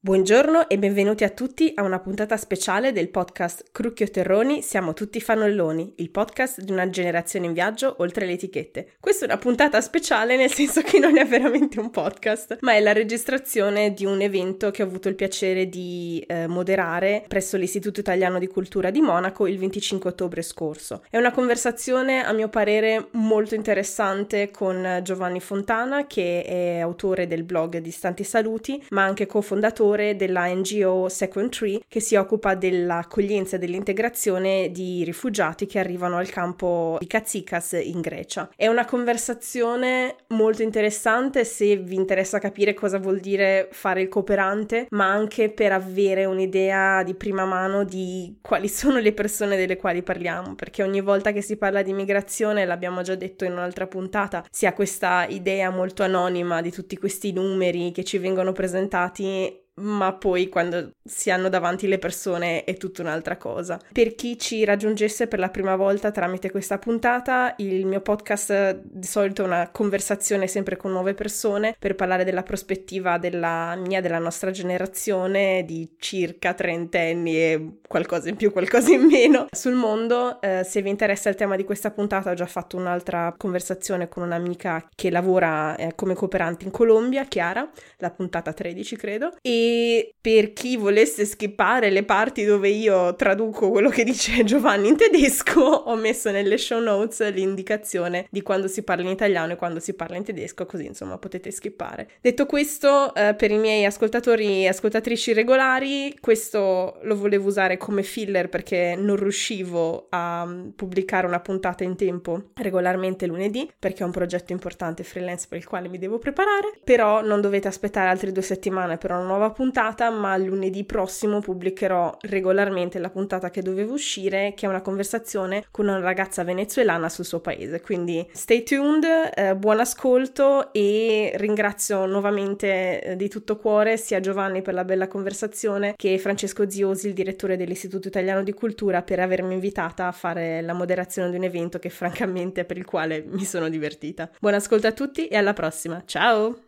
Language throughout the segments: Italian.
Buongiorno e benvenuti a tutti a una puntata speciale del podcast Crucchio Terroni, siamo tutti fannulloni, il podcast di una generazione in viaggio oltre le etichette. Questa è una puntata speciale nel senso che non è veramente un podcast, ma è la registrazione di un evento che ho avuto il piacere di moderare presso l'Istituto Italiano di Cultura di Monaco il 25 ottobre scorso. È una conversazione a mio parere molto interessante con Giovanni Fontana, che è autore del blog Distanti Saluti, ma anche cofondatore della NGO Second Tree, che si occupa dell'accoglienza e dell'integrazione di rifugiati che arrivano al campo di Katsikas in Grecia. È una conversazione molto interessante se vi interessa capire cosa vuol dire fare il cooperante, ma anche per avere un'idea di prima mano di quali sono le persone delle quali parliamo, perché ogni volta che si parla di migrazione, l'abbiamo già detto in un'altra puntata, si ha questa idea molto anonima di tutti questi numeri che ci vengono presentati, ma poi quando si hanno davanti le persone è tutta un'altra cosa. Per chi ci raggiungesse per la prima volta tramite questa puntata, il mio podcast di solito è una conversazione sempre con nuove persone per parlare della prospettiva della nostra generazione di circa trentenni e qualcosa in più, qualcosa in meno sul mondo. Se vi interessa il tema di questa puntata, ho già fatto un'altra conversazione con un'amica che lavora come cooperante in Colombia, Chiara, la puntata 13 credo, e per chi volesse skippare le parti dove io traduco quello che dice Giovanni in tedesco, ho messo nelle show notes l'indicazione di quando si parla in italiano e quando si parla in tedesco, così insomma potete skippare. Detto questo, per i miei ascoltatori e ascoltatrici regolari, questo lo volevo usare come filler perché non riuscivo a pubblicare una puntata in tempo regolarmente lunedì, perché è un progetto importante freelance per il quale mi devo preparare, però non dovete aspettare altre 2 settimane per una nuova puntata, ma lunedì prossimo pubblicherò regolarmente la puntata che doveva uscire, che è una conversazione con una ragazza venezuelana sul suo paese, quindi stay tuned, buon ascolto e ringrazio nuovamente di tutto cuore sia Giovanni per la bella conversazione che Francesco Ziosi, il direttore dell'Istituto Italiano di Cultura, per avermi invitata a fare la moderazione di un evento che francamente per il quale mi sono divertita. Buon ascolto a tutti e alla prossima, ciao!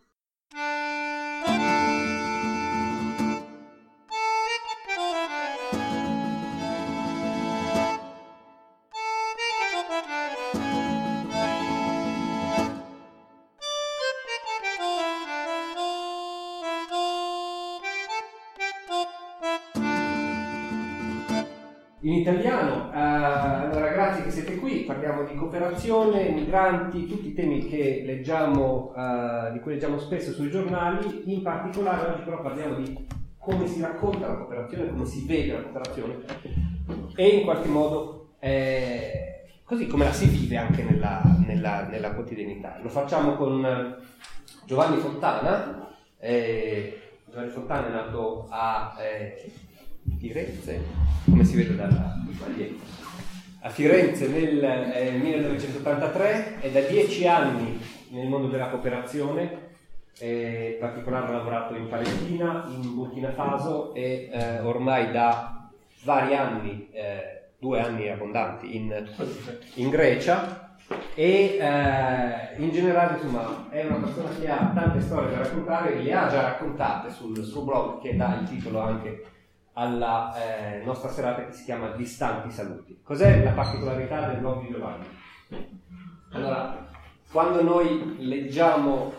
In italiano, allora grazie che siete qui, parliamo di cooperazione, migranti, tutti i temi che leggiamo, di cui leggiamo spesso sui giornali. In particolare oggi però parliamo di come si racconta la cooperazione, come si vede la cooperazione e in qualche modo così come la si vive anche nella quotidianità. Lo facciamo con Giovanni Fontana. Giovanni Fontana è nato a Firenze, come si vede dalla maglietta, a Firenze nel 1983, è da 10 anni nel mondo della cooperazione, in particolare ha lavorato in Palestina, in Burkina Faso e ormai da vari anni, 2 anni abbondanti in Grecia e in generale insomma è una persona che ha tante storie da raccontare, le ha già raccontate sul suo blog che dà il titolo anche alla nostra serata, che si chiama Distanti Saluti. Cos'è la particolarità del blog di Giovanni? Allora, quando noi leggiamo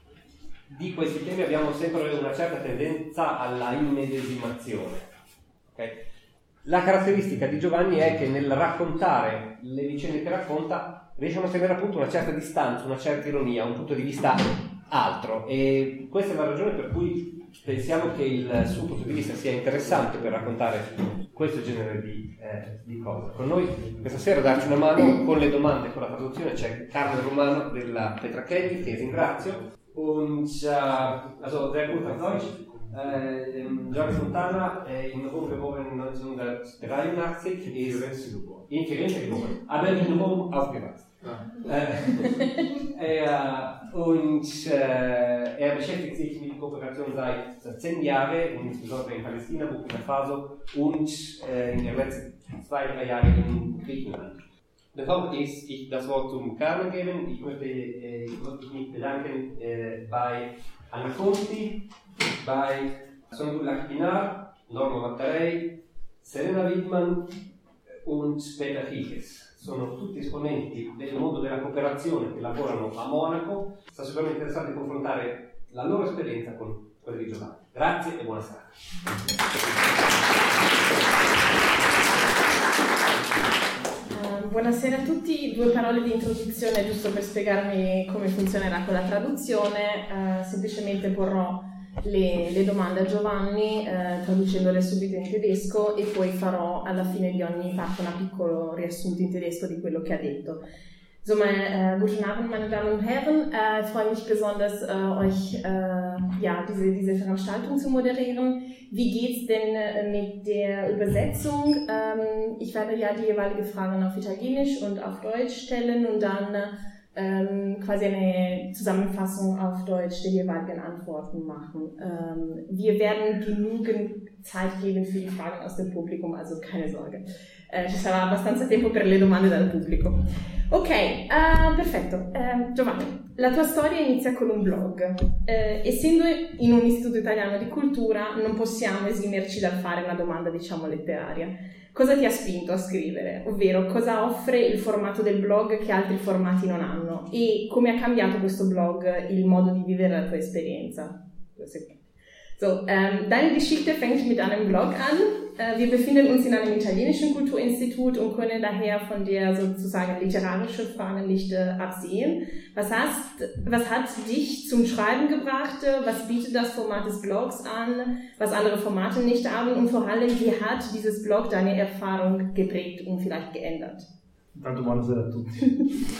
di questi temi abbiamo sempre una certa tendenza alla immedesimazione. Okay? La caratteristica di Giovanni è che nel raccontare le vicende che racconta riesce a mantenere appunto una certa distanza, una certa ironia, un punto di vista altro, e questa è la ragione per cui pensiamo che il suo punto di vista sia interessante per raccontare questo genere di cose. Con noi questa sera a darci una mano con le domande, con la traduzione, c'è Carlo Romano della Petrachelli, che ringrazio. Und also sehr gut auf Deutsch. Giovanni Fontana in Rom geboren 1983, ist in Firenze geboren, aber in Rom aufgewachsen. Er beschäftigt sich mit Kooperation seit 10 Jahren, insbesondere in Palästina, Burkina Faso und in den letzten 2-3 Jahren in Griechenland. Bevor ich das Wort zum Carmen geben, ich möchte mich bedanken bei Anna Conti, bei Sono Gulak Pinar, Norma Mattarei, Serena Wittmann und Peter Higes. Sono tutti esponenti del mondo della cooperazione che lavorano a Monaco. Sta sicuramente interessante confrontare la loro esperienza con quella di Giovanni. Grazie e buona serata. Buonasera a tutti, 2 parole di introduzione giusto per spiegarmi come funzionerà con la traduzione. Semplicemente porrò le domande a Giovanni traducendole subito in tedesco e poi farò alla fine di ogni parte un piccolo riassunto in tedesco di quello che ha detto. Insomma, guten Abend, meine Damen und Herren. Ich freue mich besonders, euch diese Veranstaltung zu moderieren. Wie geht's denn mit der Übersetzung? Ich werde ja die jeweilige Fragen auf Italienisch und auf Deutsch stellen und dann quasi eine Zusammenfassung auf Deutsch der jeweiligen Antworten machen. Wir werden genügend Zeit geben für die Fragen aus dem Publikum, also keine Sorge. Ci sarà abbastanza tempo per le domande dal pubblico. Ok, perfetto. Giovanni, la tua storia inizia con un blog. Essendo in un istituto italiano di cultura, non possiamo esimerci dal fare una domanda, diciamo, letteraria. Cosa ti ha spinto a scrivere? Ovvero, cosa offre il formato del blog che altri formati non hanno? E come ha cambiato questo blog il modo di vivere la tua esperienza? So, deine Geschichte fängt mit einem Blog an. Wir befinden uns in einem italienischen Kulturinstitut und können daher von der sozusagen literarischen Frage nicht absehen. Was hat dich zum Schreiben gebracht? Was bietet das Format des Blogs an, was andere Formate nicht haben? Und vor allem, wie hat dieses Blog deine Erfahrung geprägt und vielleicht geändert? Tanto buonasera a tutti.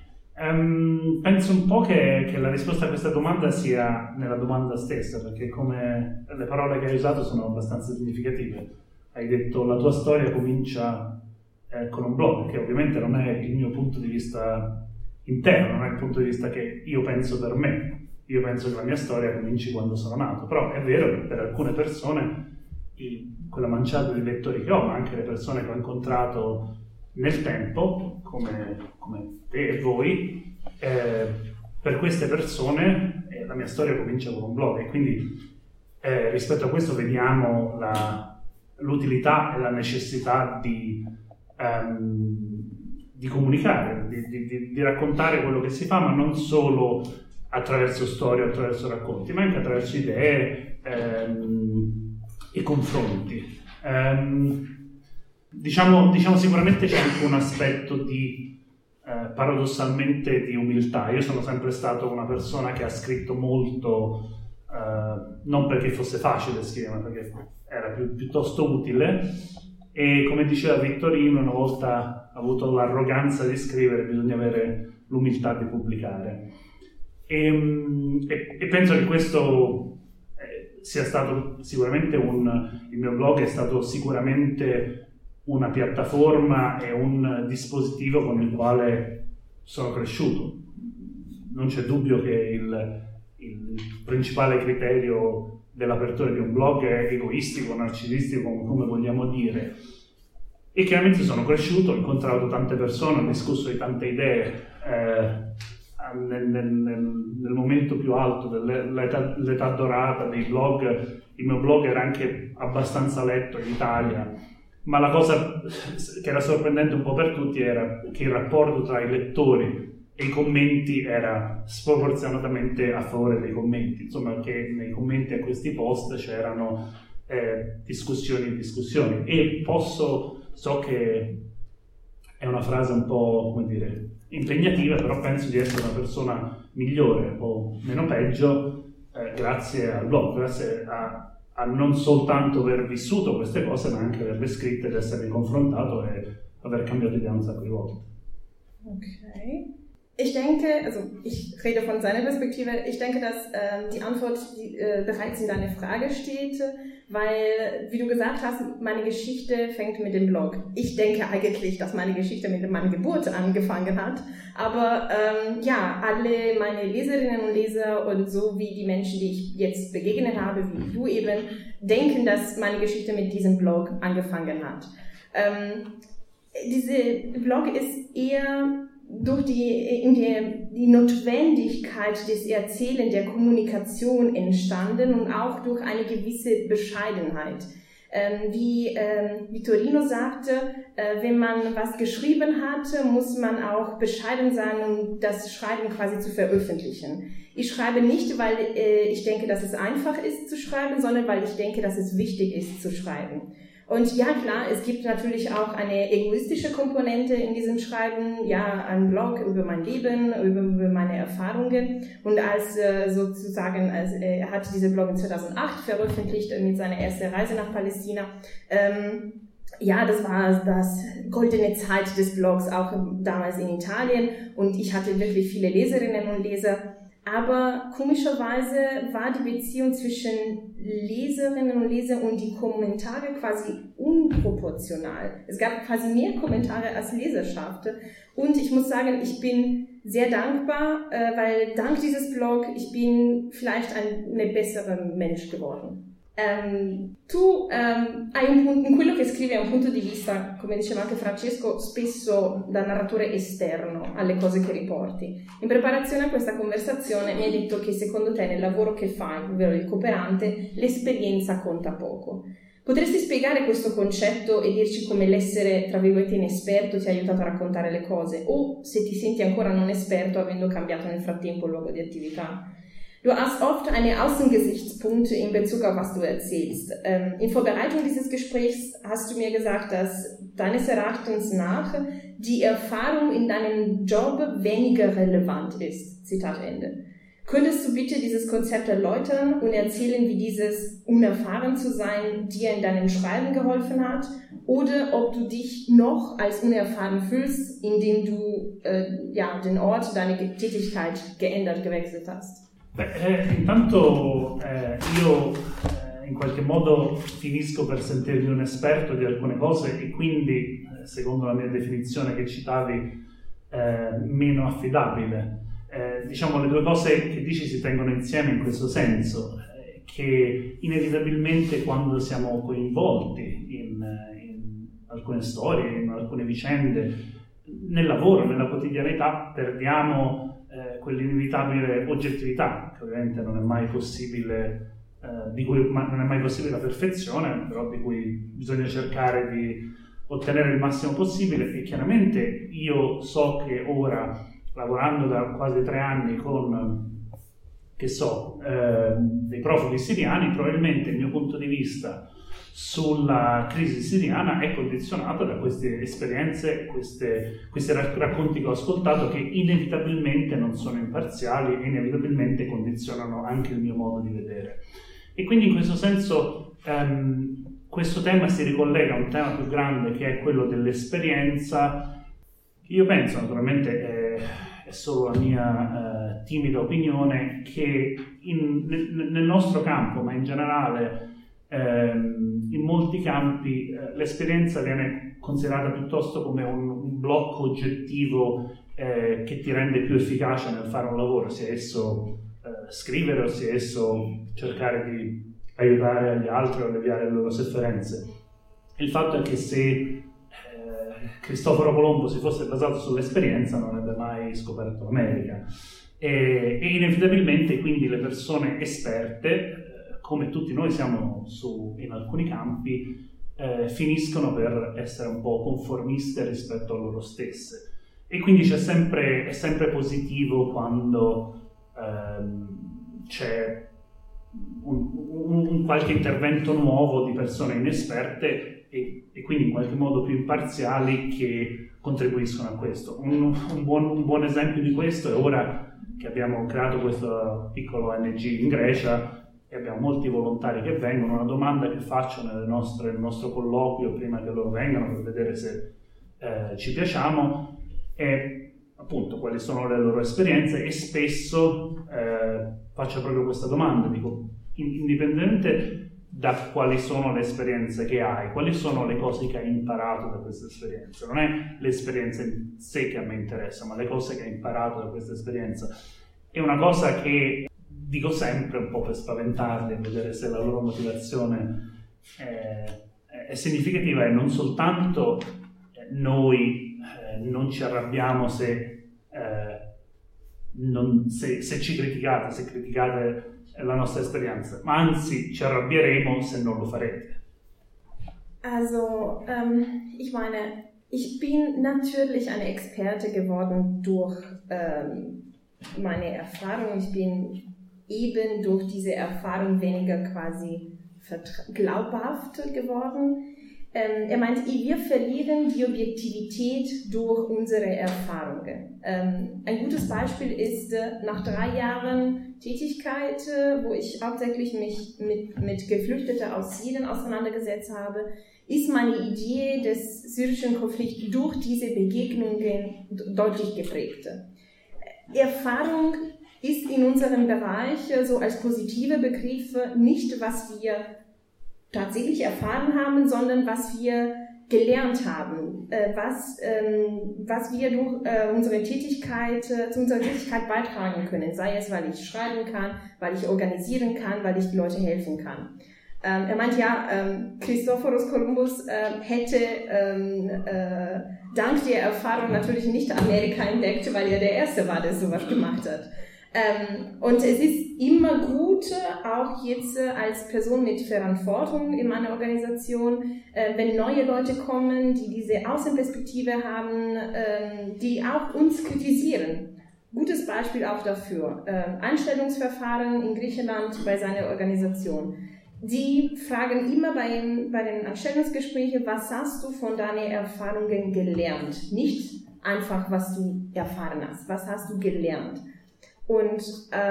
Penso un po' che la risposta a questa domanda sia nella domanda stessa, perché come le parole che hai usato sono abbastanza significative. Hai detto la tua storia comincia con un blog, che ovviamente non è il mio punto di vista interno, non è il punto di vista che io penso per me. Io penso che la mia storia cominci quando sono nato, però è vero che per alcune persone, quella manciata di lettori che ho, ma anche le persone che ho incontrato nel tempo, come te e voi, per queste persone la mia storia comincia con un blog e quindi rispetto a questo vediamo l'utilità e la necessità di comunicare, di raccontare quello che si fa, ma non solo attraverso storie, attraverso racconti, ma anche attraverso idee e confronti. Diciamo sicuramente c'è anche un aspetto paradossalmente di umiltà. Io sono sempre stato una persona che ha scritto molto, non perché fosse facile scrivere, ma perché era piuttosto utile, e come diceva Vittorino, una volta avuto l'arroganza di scrivere bisogna avere l'umiltà di pubblicare, e penso che questo sia stato sicuramente il mio blog è stato sicuramente una piattaforma e un dispositivo con il quale sono cresciuto. Non c'è dubbio che il principale criterio dell'apertura di un blog è egoistico, narcisistico, come vogliamo dire. E chiaramente sono cresciuto, ho incontrato tante persone, ho discusso di tante idee. Nel momento più alto dell'età dorata dei blog, il mio blog era anche abbastanza letto in Italia. Ma la cosa che era sorprendente un po' per tutti era che il rapporto tra i lettori e i commenti era sproporzionatamente a favore dei commenti, insomma che nei commenti a questi post c'erano discussioni, e so che è una frase un po', come dire, impegnativa, però penso di essere una persona migliore o meno peggio grazie al blog, grazie a non soltanto aver vissuto queste cose, ma anche averle scritte ed essermi confrontato e aver cambiato idea un sacco di volte. Okay. Ich denke, also ich rede von seiner Perspektive, ich denke, dass die Antwort bereits in deiner Frage steht, weil, wie du gesagt hast, meine Geschichte fängt mit dem Blog. Ich denke eigentlich, dass meine Geschichte mit meiner Geburt angefangen hat, aber alle meine Leserinnen und Leser und so wie die Menschen, die ich jetzt begegnet habe, wie du eben, denken, dass meine Geschichte mit diesem Blog angefangen hat. Diese Blog ist eher durch die Notwendigkeit des Erzählens, der Kommunikation entstanden und auch durch eine gewisse Bescheidenheit. Wie Vittorino sagte, wenn man was geschrieben hat, muss man auch bescheiden sein, um das Schreiben quasi zu veröffentlichen. Ich schreibe nicht, weil ich denke, dass es einfach ist zu schreiben, sondern weil ich denke, dass es wichtig ist zu schreiben. Und ja, klar, es gibt natürlich auch eine egoistische Komponente in diesem Schreiben, ja, ein Blog über mein Leben, über meine Erfahrungen. Und er hat diese Blog in 2008 veröffentlicht mit seiner ersten Reise nach Palästina. Ja, das war das goldene Zeit des Blogs, auch damals in Italien. Und ich hatte wirklich viele Leserinnen und Leser. Aber komischerweise war die Beziehung zwischen Leserinnen und Lesern und die Kommentare quasi unproportional. Es gab quasi mehr Kommentare als Leserschaft. Und ich muss sagen, ich bin sehr dankbar, weil dank dieses Blog ich bin vielleicht ein besserer Mensch geworden. Tu hai quello che scrivi è un punto di vista, come diceva anche Francesco, spesso da narratore esterno alle cose che riporti. In preparazione a questa conversazione mi hai detto che secondo te nel lavoro che fai, ovvero il cooperante, l'esperienza conta poco. Potresti spiegare questo concetto e dirci come l'essere, tra virgolette, inesperto ti ha aiutato a raccontare le cose, o se ti senti ancora non esperto avendo cambiato nel frattempo il luogo di attività? Du hast oft eine Außengesichtspunkte in Bezug auf was du erzählst. In Vorbereitung dieses Gesprächs hast du mir gesagt, dass deines Erachtens nach die Erfahrung in deinem Job weniger relevant ist. Zitat Ende. Könntest du bitte dieses Konzept erläutern und erzählen, wie dieses unerfahren zu sein dir in deinem Schreiben geholfen hat? Oder ob du dich noch als unerfahren fühlst, indem du den Ort, deine Tätigkeit gewechselt hast? Intanto io in qualche modo finisco per sentirmi un esperto di alcune cose e quindi, secondo la mia definizione che citavi, meno affidabile. Diciamo le due cose che dici si tengono insieme in questo senso, che inevitabilmente quando siamo coinvolti in alcune storie, in alcune vicende, nel lavoro, nella quotidianità, perdiamo quell'inevitabile oggettività, che ovviamente non è mai possibile, non è mai possibile la perfezione, però di cui bisogna cercare di ottenere il massimo possibile. E chiaramente io so che ora, lavorando da quasi 3 anni con, dei profughi siriani, probabilmente il mio punto di vista sulla crisi siriana è condizionato da queste esperienze, questi racconti che ho ascoltato, che inevitabilmente non sono imparziali e inevitabilmente condizionano anche il mio modo di vedere. E quindi in questo senso questo tema si ricollega a un tema più grande, che è quello dell'esperienza. Io penso, naturalmente è solo la mia timida opinione, che nel nostro campo, ma in generale in molti campi, l'esperienza viene considerata piuttosto come un blocco oggettivo che ti rende più efficace nel fare un lavoro, sia esso scrivere o sia esso cercare di aiutare gli altri o alleviare le loro sofferenze. Il fatto è che se Cristoforo Colombo si fosse basato sull'esperienza non avrebbe mai scoperto l'America, e inevitabilmente quindi le persone esperte, come tutti noi siamo in alcuni campi, finiscono per essere un po' conformiste rispetto a loro stesse, e quindi è sempre positivo quando c'è un qualche intervento nuovo di persone inesperte e quindi in qualche modo più imparziali, che contribuiscono a questo. Un buon esempio di questo è ora che abbiamo creato questo piccolo ONG in Grecia e abbiamo molti volontari che vengono. Una domanda che faccio nel nostro colloquio prima che loro vengano, per vedere se ci piacciamo, è appunto quali sono le loro esperienze, e spesso faccio proprio questa domanda, dico, indipendentemente da quali sono le esperienze che hai, quali sono le cose che hai imparato da questa esperienza. Non è l'esperienza in sé che a me interessa, ma le cose che hai imparato da questa esperienza. È una cosa che dico sempre un po' per spaventarli, vedere se la loro motivazione è significativa, e non soltanto noi non ci arrabbiamo se se ci criticate, se criticate la nostra esperienza, ma anzi ci arrabbieremo se non lo farete. Also, ich meine, ich bin natürlich eine Experte geworden durch meine Erfahrung. Ich bin eben durch diese Erfahrung weniger quasi glaubhaft geworden. Er meint, wir verlieren die Objektivität durch unsere Erfahrungen. Ein gutes Beispiel ist, nach 3 Jahren Tätigkeit, wo ich hauptsächlich mich mit Geflüchteten aus Syrien auseinandergesetzt habe, ist meine Idee des syrischen Konflikts durch diese Begegnungen deutlich geprägt. Erfahrung ist in unserem Bereich so als positive Begriff nicht, was wir tatsächlich erfahren haben, sondern was wir gelernt haben, was wir durch unsere Tätigkeit, zu unserer Tätigkeit beitragen können, sei es, weil ich schreiben kann, weil ich organisieren kann, weil ich die Leute helfen kann. Er meint ja, Christophorus Columbus hätte dank der Erfahrung natürlich nicht Amerika entdeckt, weil er der Erste war, der sowas gemacht hat. Und es ist immer gut, auch jetzt als Person mit Verantwortung in meiner Organisation, wenn neue Leute kommen, die diese Außenperspektive haben, die auch uns kritisieren. Gutes Beispiel auch dafür. Einstellungsverfahren in Griechenland bei seiner Organisation. Die fragen immer bei den Anstellungsgesprächen, was hast du von deinen Erfahrungen gelernt? Nicht einfach, was du erfahren hast. Was hast du gelernt? Und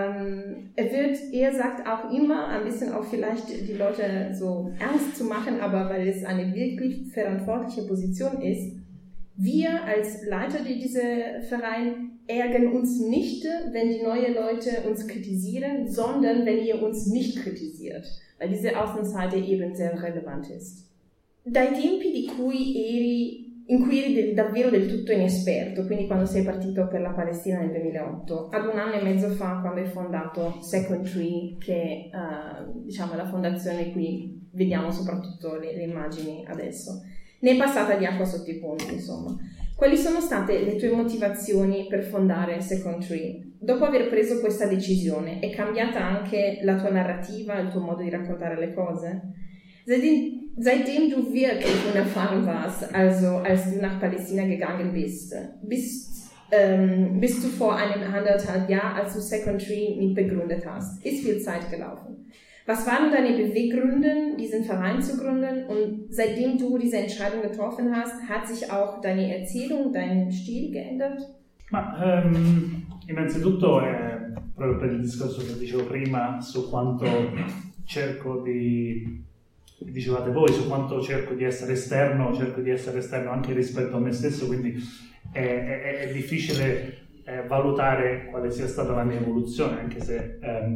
er sagt auch immer, ein bisschen auch vielleicht die Leute so Angst zu machen, aber weil es eine wirklich verantwortliche Position ist, wir als Leiter dieser Verein ärgern uns nicht, wenn die neuen Leute uns kritisieren, sondern wenn ihr uns nicht kritisiert, weil diese Außenseite eben sehr relevant ist. Dai tempi in cui eri davvero del tutto inesperto, quindi quando sei partito per la Palestina nel 2008, ad 1 anno e mezzo fa quando hai fondato Second Tree, che diciamo è la fondazione qui vediamo soprattutto le immagini adesso, ne è passata di acqua sotto i ponti, insomma. Quali sono state le tue motivazioni per fondare Second Tree? Dopo aver preso questa decisione, è cambiata anche la tua narrativa, il tuo modo di raccontare le cose? Seitdem du wirklich unerfahren warst, also als du nach Palästina gegangen bist, bis du vor 1,5 Jahren, als du Second Tree mitbegründet hast, ist viel Zeit gelaufen. Was waren deine Beweggründe, diesen Verein zu gründen? Und seitdem du diese Entscheidung getroffen hast, hat sich auch deine Erzählung, dein Stil geändert? Ma innanzitutto proprio per il discorso che dicevo prima su quanto cerco dicevate voi, su quanto cerco di essere esterno anche rispetto a me stesso, quindi è difficile valutare quale sia stata la mia evoluzione, anche se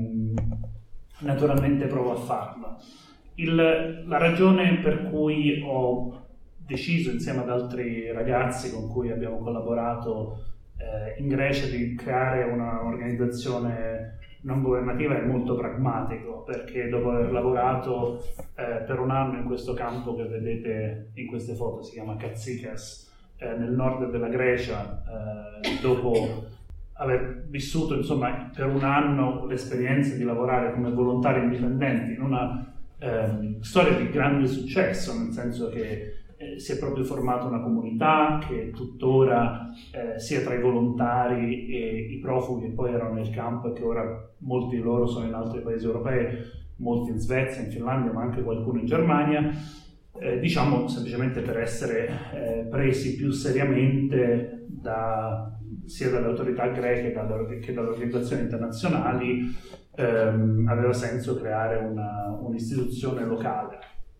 naturalmente provo a farlo. La ragione per cui ho deciso insieme ad altri ragazzi con cui abbiamo collaborato in Grecia di creare un'organizzazione non governativa è molto pragmatico, perché dopo aver lavorato per 1 anno in questo campo che vedete in queste foto, si chiama Katsikas, nel nord della Grecia, dopo aver vissuto insomma per 1 anno l'esperienza di lavorare come volontari indipendenti in una storia di grande successo, nel senso che si è proprio formata una comunità che tuttora sia tra i volontari e i profughi che poi erano nel campo e che ora molti di loro sono in altri paesi europei, molti in Svezia, in Finlandia, ma anche qualcuno in Germania, diciamo semplicemente per essere presi più seriamente sia dalle autorità greche che dalle organizzazioni internazionali, aveva senso creare un'istituzione locale.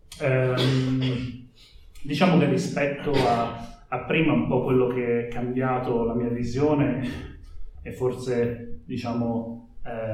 Diciamo che rispetto a prima un po' quello che è cambiato la mia visione e forse diciamo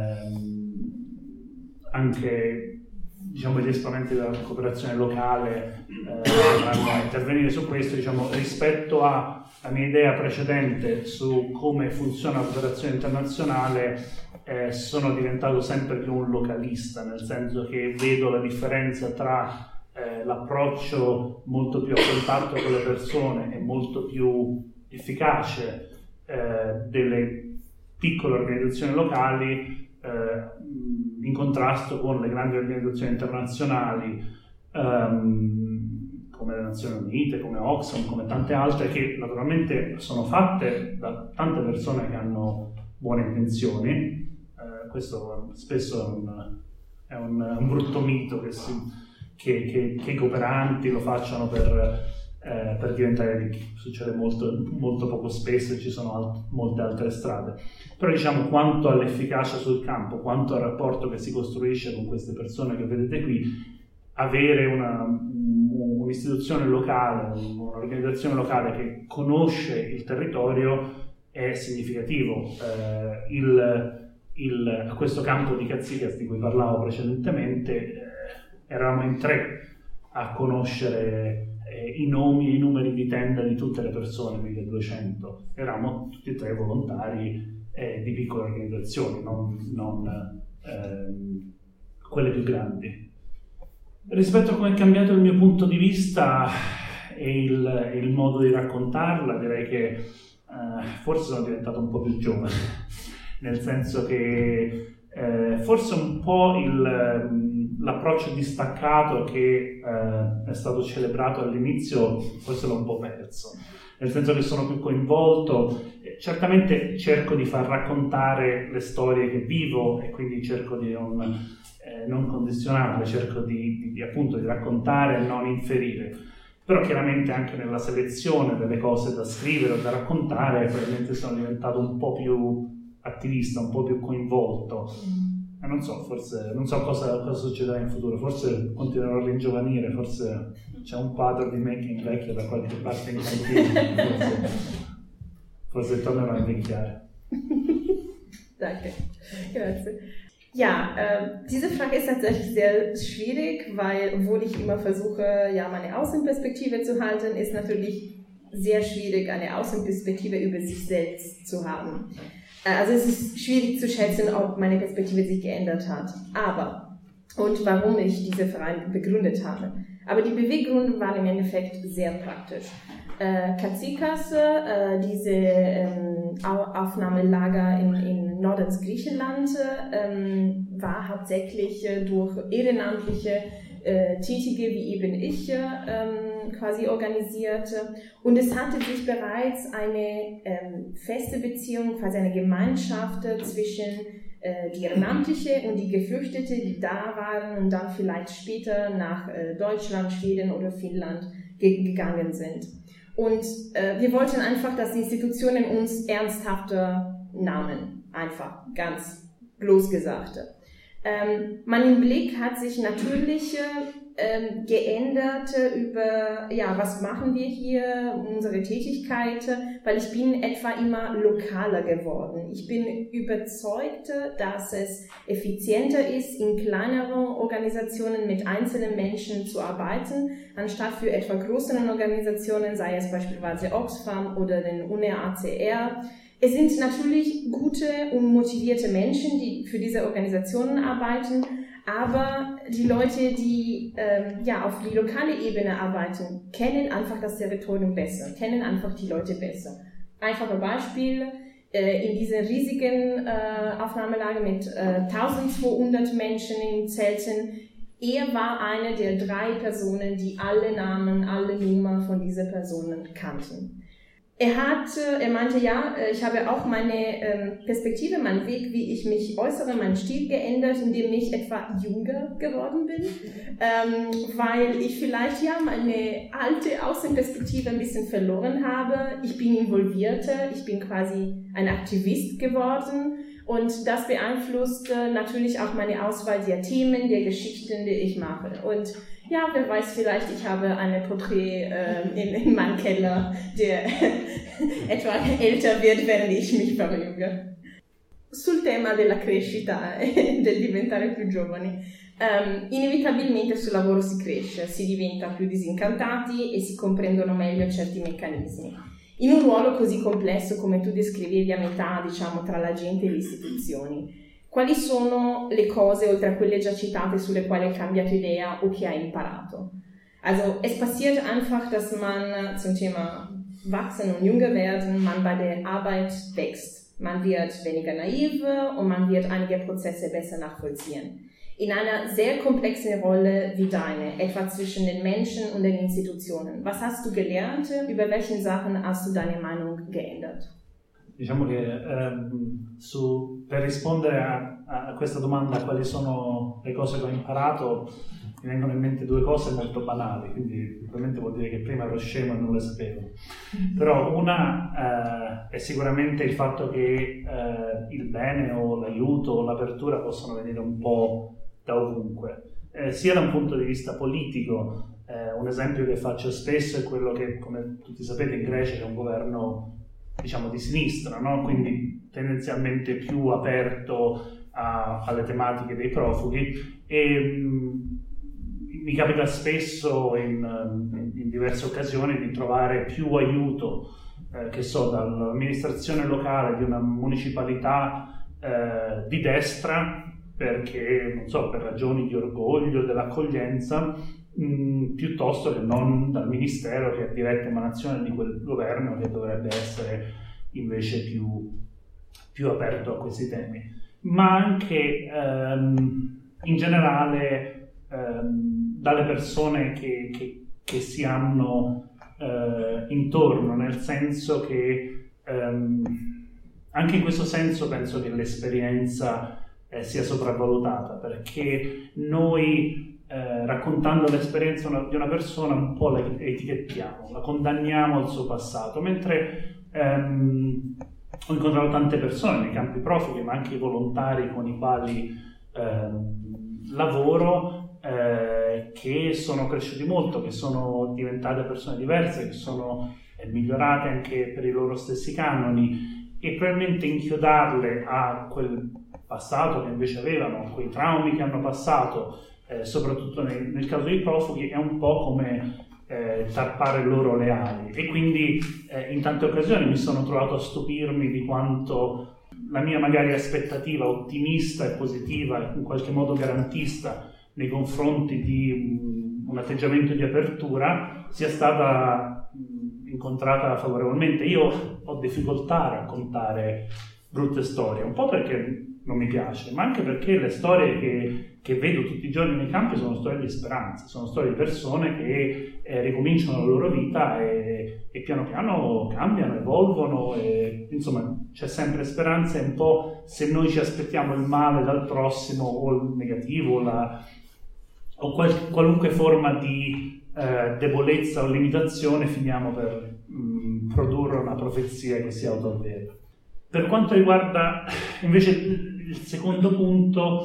anche diciamo gli esponenti della cooperazione locale potranno intervenire su questo, diciamo rispetto alla mia idea precedente su come funziona la cooperazione internazionale sono diventato sempre più un localista, nel senso che vedo la differenza tra l'approccio molto più a contatto con le persone e molto più efficace delle piccole organizzazioni locali in contrasto con le grandi organizzazioni internazionali come le Nazioni Unite, come Oxfam, come tante altre che naturalmente sono fatte da tante persone che hanno buone intenzioni. Questo spesso è un brutto mito che i cooperanti lo facciano per diventare ricchi. Succede molto, molto poco spesso e ci sono molte altre strade. Però diciamo, quanto all'efficacia sul campo, quanto al rapporto che si costruisce con queste persone che vedete qui, avere un'istituzione locale, un'organizzazione locale che conosce il territorio è significativo. A questo campo di Catsigas di cui parlavo precedentemente eravamo in 3 a conoscere i nomi e i numeri di tenda di tutte le persone, 1200. Eravamo tutti e 3 volontari di piccole organizzazioni, non quelle più grandi. Rispetto a come è cambiato il mio punto di vista e il modo di raccontarla, direi che forse sono diventato un po' più giovane, nel senso che forse un po' l'approccio distaccato che è stato celebrato all'inizio, forse l'ho un po' perso, nel senso che sono più coinvolto. Certamente cerco di far raccontare le storie che vivo e quindi cerco di non condizionarle, cerco appunto di raccontare e non inferire. Però chiaramente anche nella selezione delle cose da scrivere o da raccontare probabilmente sono diventato un po' più attivista, un po' più coinvolto. Non so, forse non so cosa succederà in futuro, forse continuerò a ringiovanire, forse c'è un quadro di me che invecchia da qualche parte in cantina, forse tornerò a invecchiare. Danke, grazie. Ja, diese Frage ist tatsächlich sehr schwierig, weil, obwohl ich immer versuche, ja, meine Außenperspektive zu halten, ist natürlich sehr schwierig, eine Außenperspektive über sich selbst zu haben. Also es ist schwierig zu schätzen, ob meine Perspektive sich geändert hat. Und warum ich diese Verein begründet habe. Aber die Beweggründe waren im Endeffekt sehr praktisch. Katsikas, diese Aufnahmelager in Nordens Griechenland, war hauptsächlich durch ehrenamtliche Tätige wie eben ich quasi organisiert. Und es hatte sich bereits eine feste Beziehung, quasi eine Gemeinschaft zwischen die Ehrenamtliche und die Geflüchtete, die da waren und dann vielleicht später nach Deutschland, Schweden oder Finnland gegangen sind. Und wir wollten einfach, dass die Institutionen uns ernsthafter nahmen. Einfach, ganz bloß gesagt. Mein Blick hat sich natürlich geändert über, ja, was machen wir hier, unsere Tätigkeit, weil ich bin etwa immer lokaler geworden. Ich bin überzeugt, dass es effizienter ist, in kleineren Organisationen mit einzelnen Menschen zu arbeiten, anstatt für etwa größeren Organisationen, sei es beispielsweise Oxfam oder den UNHCR. Es sind natürlich gute und motivierte Menschen, die für diese Organisationen arbeiten, aber die Leute, die auf die lokale Ebene arbeiten, kennen einfach das Territorium besser, kennen einfach die Leute besser. Einfache Beispiel, in diesem riesigen Aufnahmelager mit 1200 Menschen in Zelten, er war eine der 3 Personen, die alle Namen, alle Nummern von diesen Personen kannten. Er meinte, ja, ich habe auch meine Perspektive, meinen Weg, wie ich mich äußere, meinen Stil geändert, indem ich etwa jünger geworden bin, weil ich vielleicht ja meine alte Außenperspektive ein bisschen verloren habe. Ich bin involvierter, ich bin quasi ein Aktivist geworden und das beeinflusst natürlich auch meine Auswahl der Themen, der Geschichten, die ich mache. Und ja, wer weiß, vielleicht ich habe eine Porträt in meinem Keller, der etwa älter wird, während ich mich verjünge. Sul tema della crescita e del diventare più giovani, inevitabilmente sul lavoro si cresce, si diventa più disincantati e si comprendono meglio certi meccanismi. In un ruolo così complesso come tu descrivevi a metà, diciamo, tra la gente e le istituzioni, quali sono le cose, oltre a quelle già citate, sulle quali hai cambiato idea o che hai imparato? Also, es passiert einfach, dass man zum Thema Wachsen und Jünger werden, man bei der Arbeit wächst. Man wird weniger naiv und man wird einige Prozesse besser nachvollziehen. In einer sehr komplexen Rolle wie deine, etwa zwischen den Menschen und den Institutionen. Was hast du gelernt? Über welche Sachen hast du deine Meinung geändert? Diciamo che per rispondere a questa domanda, quali sono le cose che ho imparato, mi vengono in mente due cose molto banali, quindi probabilmente vuol dire che prima ero scemo e non le sapevo. Però una è sicuramente il fatto che il bene o l'aiuto o l'apertura possono venire un po' da ovunque, sia da un punto di vista politico. Un esempio che faccio spesso è quello che, come tutti sapete, in Grecia c'è un governo, diciamo, di sinistra, no? Quindi tendenzialmente più aperto alle tematiche dei profughi, e mi capita spesso in diverse occasioni di trovare più aiuto, che so, dall'amministrazione locale di una municipalità di destra, perché, non so, per ragioni di orgoglio, dell'accoglienza, piuttosto che non dal ministero che è diretta emanazione di quel governo, che dovrebbe essere invece più aperto a questi temi. Ma anche in generale dalle persone che si hanno intorno, nel senso che anche in questo senso penso che l'esperienza sia sopravvalutata, perché noi raccontando l'esperienza di una persona un po' la etichettiamo, la condanniamo al suo passato, mentre ho incontrato tante persone nei campi profughi, ma anche i volontari con i quali lavoro, che sono cresciuti molto, che sono diventate persone diverse, che sono migliorate anche per i loro stessi canoni, e probabilmente inchiodarle a quel passato che invece avevano, quei traumi che hanno passato, soprattutto nel caso dei profughi, è un po' come tarpare loro le ali. E quindi in tante occasioni mi sono trovato a stupirmi di quanto la mia magari aspettativa ottimista e positiva, in qualche modo garantista nei confronti di un atteggiamento di apertura, sia stata incontrata favorevolmente. Io ho difficoltà a raccontare brutte storie, un po' perché non mi piace, ma anche perché le storie che vedo tutti i giorni nei campi sono storie di speranza, sono storie di persone che ricominciano la loro vita e piano piano cambiano, evolvono, e insomma c'è sempre speranza. E un po' se noi ci aspettiamo il male dal prossimo, o il negativo, o qualunque forma di debolezza o limitazione, finiamo per produrre una profezia che si autoavvera. Per quanto riguarda invece il secondo punto,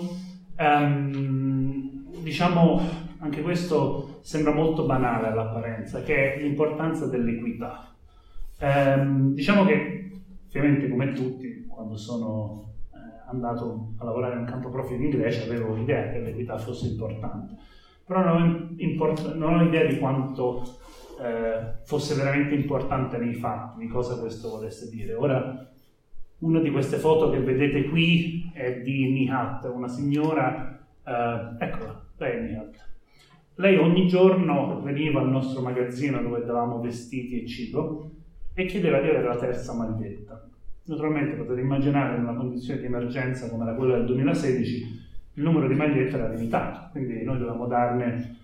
diciamo, anche questo sembra molto banale all'apparenza, che è l'importanza dell'equità. Diciamo che ovviamente, come tutti, quando sono andato a lavorare in un campo profughi in Grecia avevo l'idea che l'equità fosse importante, però non ho idea di quanto fosse veramente importante nei fatti, di cosa questo volesse dire. Ora, una di queste foto che vedete qui è di Nihat, una signora, eccola, lei è Nihat. Lei ogni giorno veniva al nostro magazzino dove davamo vestiti e cibo e chiedeva di avere la terza maglietta. Naturalmente potete immaginare, in una condizione di emergenza come era quella del 2016, il numero di magliette era limitato, quindi noi dovevamo darne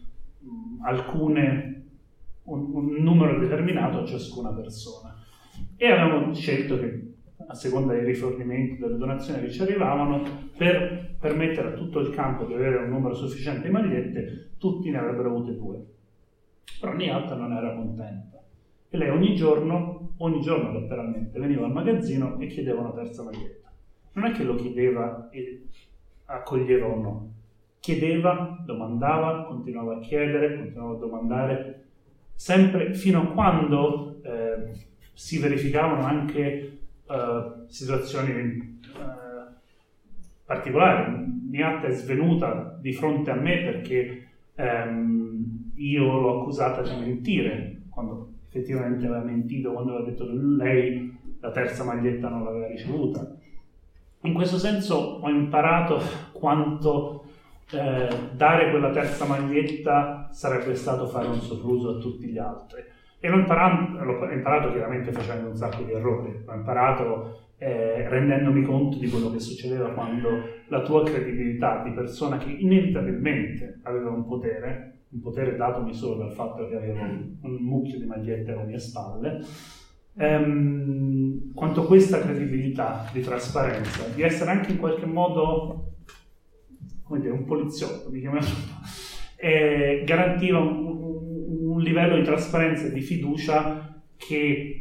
un numero determinato a ciascuna persona. E avevamo scelto che, a seconda dei rifornimenti, delle donazioni che ci arrivavano, per permettere a tutto il campo di avere un numero sufficiente di magliette, tutti ne avrebbero avute 2. Però Nihat non era contenta. E lei ogni giorno letteralmente, veniva al magazzino e chiedeva una terza maglietta. Non è che lo chiedeva e accoglieva o no. Chiedeva, domandava, continuava a chiedere, continuava a domandare, sempre fino a quando si verificavano anche situazioni particolari. Nihat è svenuta di fronte a me perché io l'ho accusata di mentire, quando effettivamente aveva mentito, quando aveva detto che lei la terza maglietta non l'aveva ricevuta. In questo senso ho imparato quanto dare quella terza maglietta sarebbe stato fare un sopruso a tutti gli altri. E l'ho imparato chiaramente facendo un sacco di errori. L'ho imparato rendendomi conto di quello che succedeva quando la tua credibilità di persona che inevitabilmente aveva un potere datomi solo dal fatto che avevo un mucchio di magliette alle mie spalle, quanto questa credibilità di trasparenza, di essere anche in qualche modo, come dire, un poliziotto, mi chiamavo, garantiva un livello di trasparenza e di fiducia che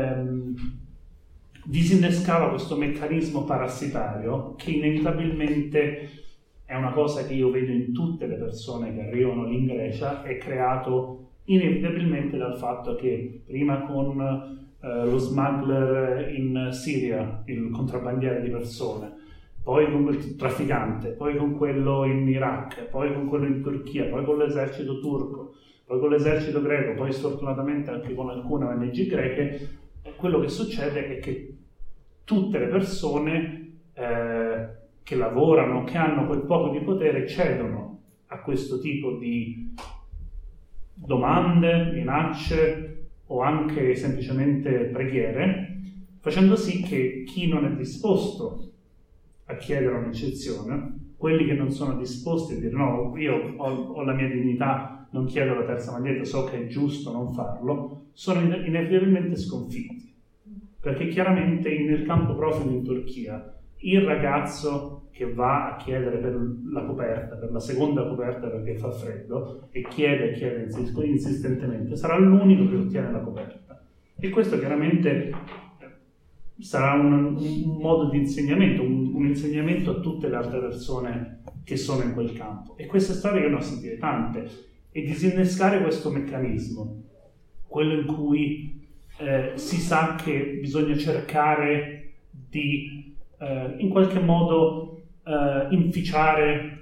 disinnescava questo meccanismo parassitario che inevitabilmente è una cosa che io vedo in tutte le persone che arrivano lì in Grecia, è creato inevitabilmente dal fatto che prima con lo smuggler in Siria, il contrabbandiere di persone, poi con quel trafficante, poi con quello in Iraq, poi con quello in Turchia, poi con l'esercito turco, poi con l'esercito greco, poi sfortunatamente anche con alcune ONG greche, quello che succede è che tutte le persone che lavorano, che hanno quel poco di potere, cedono a questo tipo di domande, minacce o anche semplicemente preghiere, facendo sì che chi non è disposto a chiedere un'eccezione, quelli che non sono disposti a dire no, io ho la mia dignità, non chiedo la terza maglietta, so che è giusto non farlo, sono inevitabilmente sconfitti. Perché chiaramente nel campo profughi in Turchia il ragazzo che va a chiedere per la coperta, per la seconda coperta perché fa freddo, e chiede insistentemente, sarà l'unico che ottiene la coperta. E questo chiaramente sarà un modo di insegnamento, un insegnamento a tutte le altre persone che sono in quel campo. E queste storie io ne ho sentite tante. E disinnescare questo meccanismo, quello in cui si sa che bisogna cercare di in qualche modo inficiare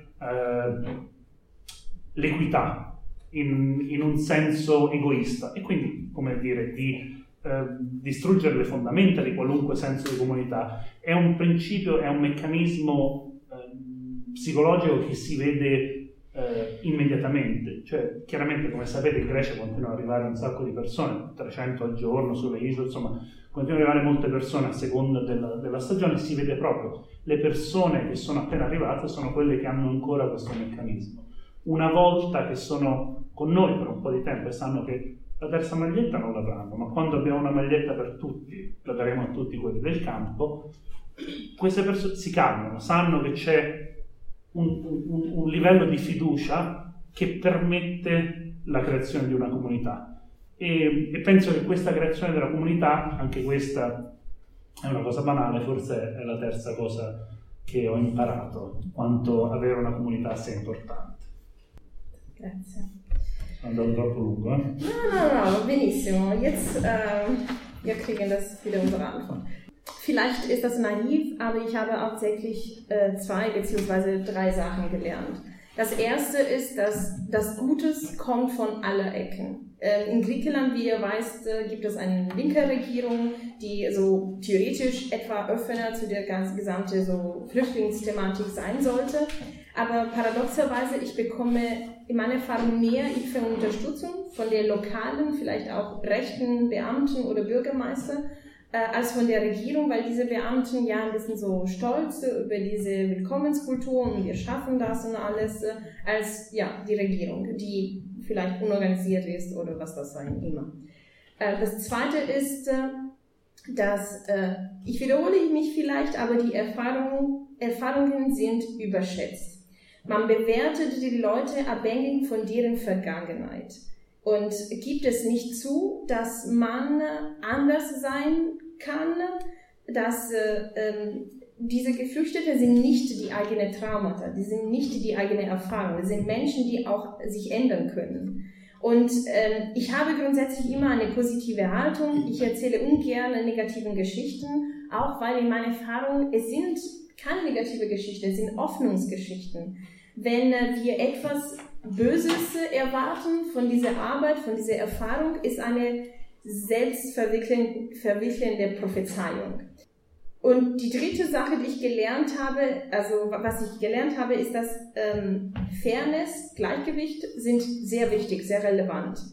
l'equità in un senso egoista e quindi, come dire, di distruggere le fondamenta di qualunque senso di comunità. È un principio, è un meccanismo psicologico che si vede immediatamente. Cioè, chiaramente, come sapete, in Grecia continuano ad arrivare un sacco di persone, 300 al giorno sulle isole, insomma continuano ad arrivare molte persone a seconda della stagione. Si vede proprio le persone che sono appena arrivate sono quelle che hanno ancora questo meccanismo. Una volta che sono con noi per un po' di tempo e sanno che la terza maglietta non l'avranno, ma quando abbiamo una maglietta per tutti la daremo a tutti quelli del campo, queste persone si calmano, sanno che c'è un livello di fiducia che permette la creazione di una comunità. E penso che questa creazione della comunità, anche questa è una cosa banale, forse è la terza cosa che ho imparato, quanto avere una comunità sia importante. Grazie. Sono andato troppo lungo, eh? No, benissimo. Jetzt, wir kriegen das wieder unsere Antwort. Vielleicht ist das naiv, aber ich habe hauptsächlich 2 bzw. 3 Sachen gelernt. Das erste ist, dass das Gutes kommt von aller Ecken. In Griechenland, wie ihr weißt, gibt es eine linke Regierung, die so theoretisch etwa Öffner zu der gesamten so Flüchtlingsthematik sein sollte. Aber paradoxerweise, ich bekomme in meiner Erfahrung mehr Hilfe und Unterstützung von den lokalen, vielleicht auch rechten Beamten oder Bürgermeister, als von der Regierung, weil diese Beamten ja ein bisschen so stolz über diese Willkommenskultur und wir schaffen das und alles, als ja die Regierung, die vielleicht unorganisiert ist oder was das sein immer. Das Zweite ist, dass, ich wiederhole mich vielleicht, aber die Erfahrungen sind überschätzt. Man bewertet die Leute abhängig von deren Vergangenheit. Und gibt es nicht zu, dass man anders sein kann, dass diese Geflüchteten sind nicht die eigene Traumata, die sind nicht die eigene Erfahrung, das sind Menschen, die auch sich ändern können. Und ich habe grundsätzlich immer eine positive Haltung, ich erzähle ungern negativen Geschichten, auch weil in meiner Erfahrung, es sind keine negative Geschichten, es sind Hoffnungsgeschichten. Wenn wir etwas Böses erwarten von dieser Arbeit, von dieser Erfahrung, ist eine selbstverwirklichende Prophezeiung. Und die dritte Sache, die ich gelernt habe, also was ich gelernt habe, ist, dass Fairness, Gleichgewicht sind sehr wichtig, sehr relevant.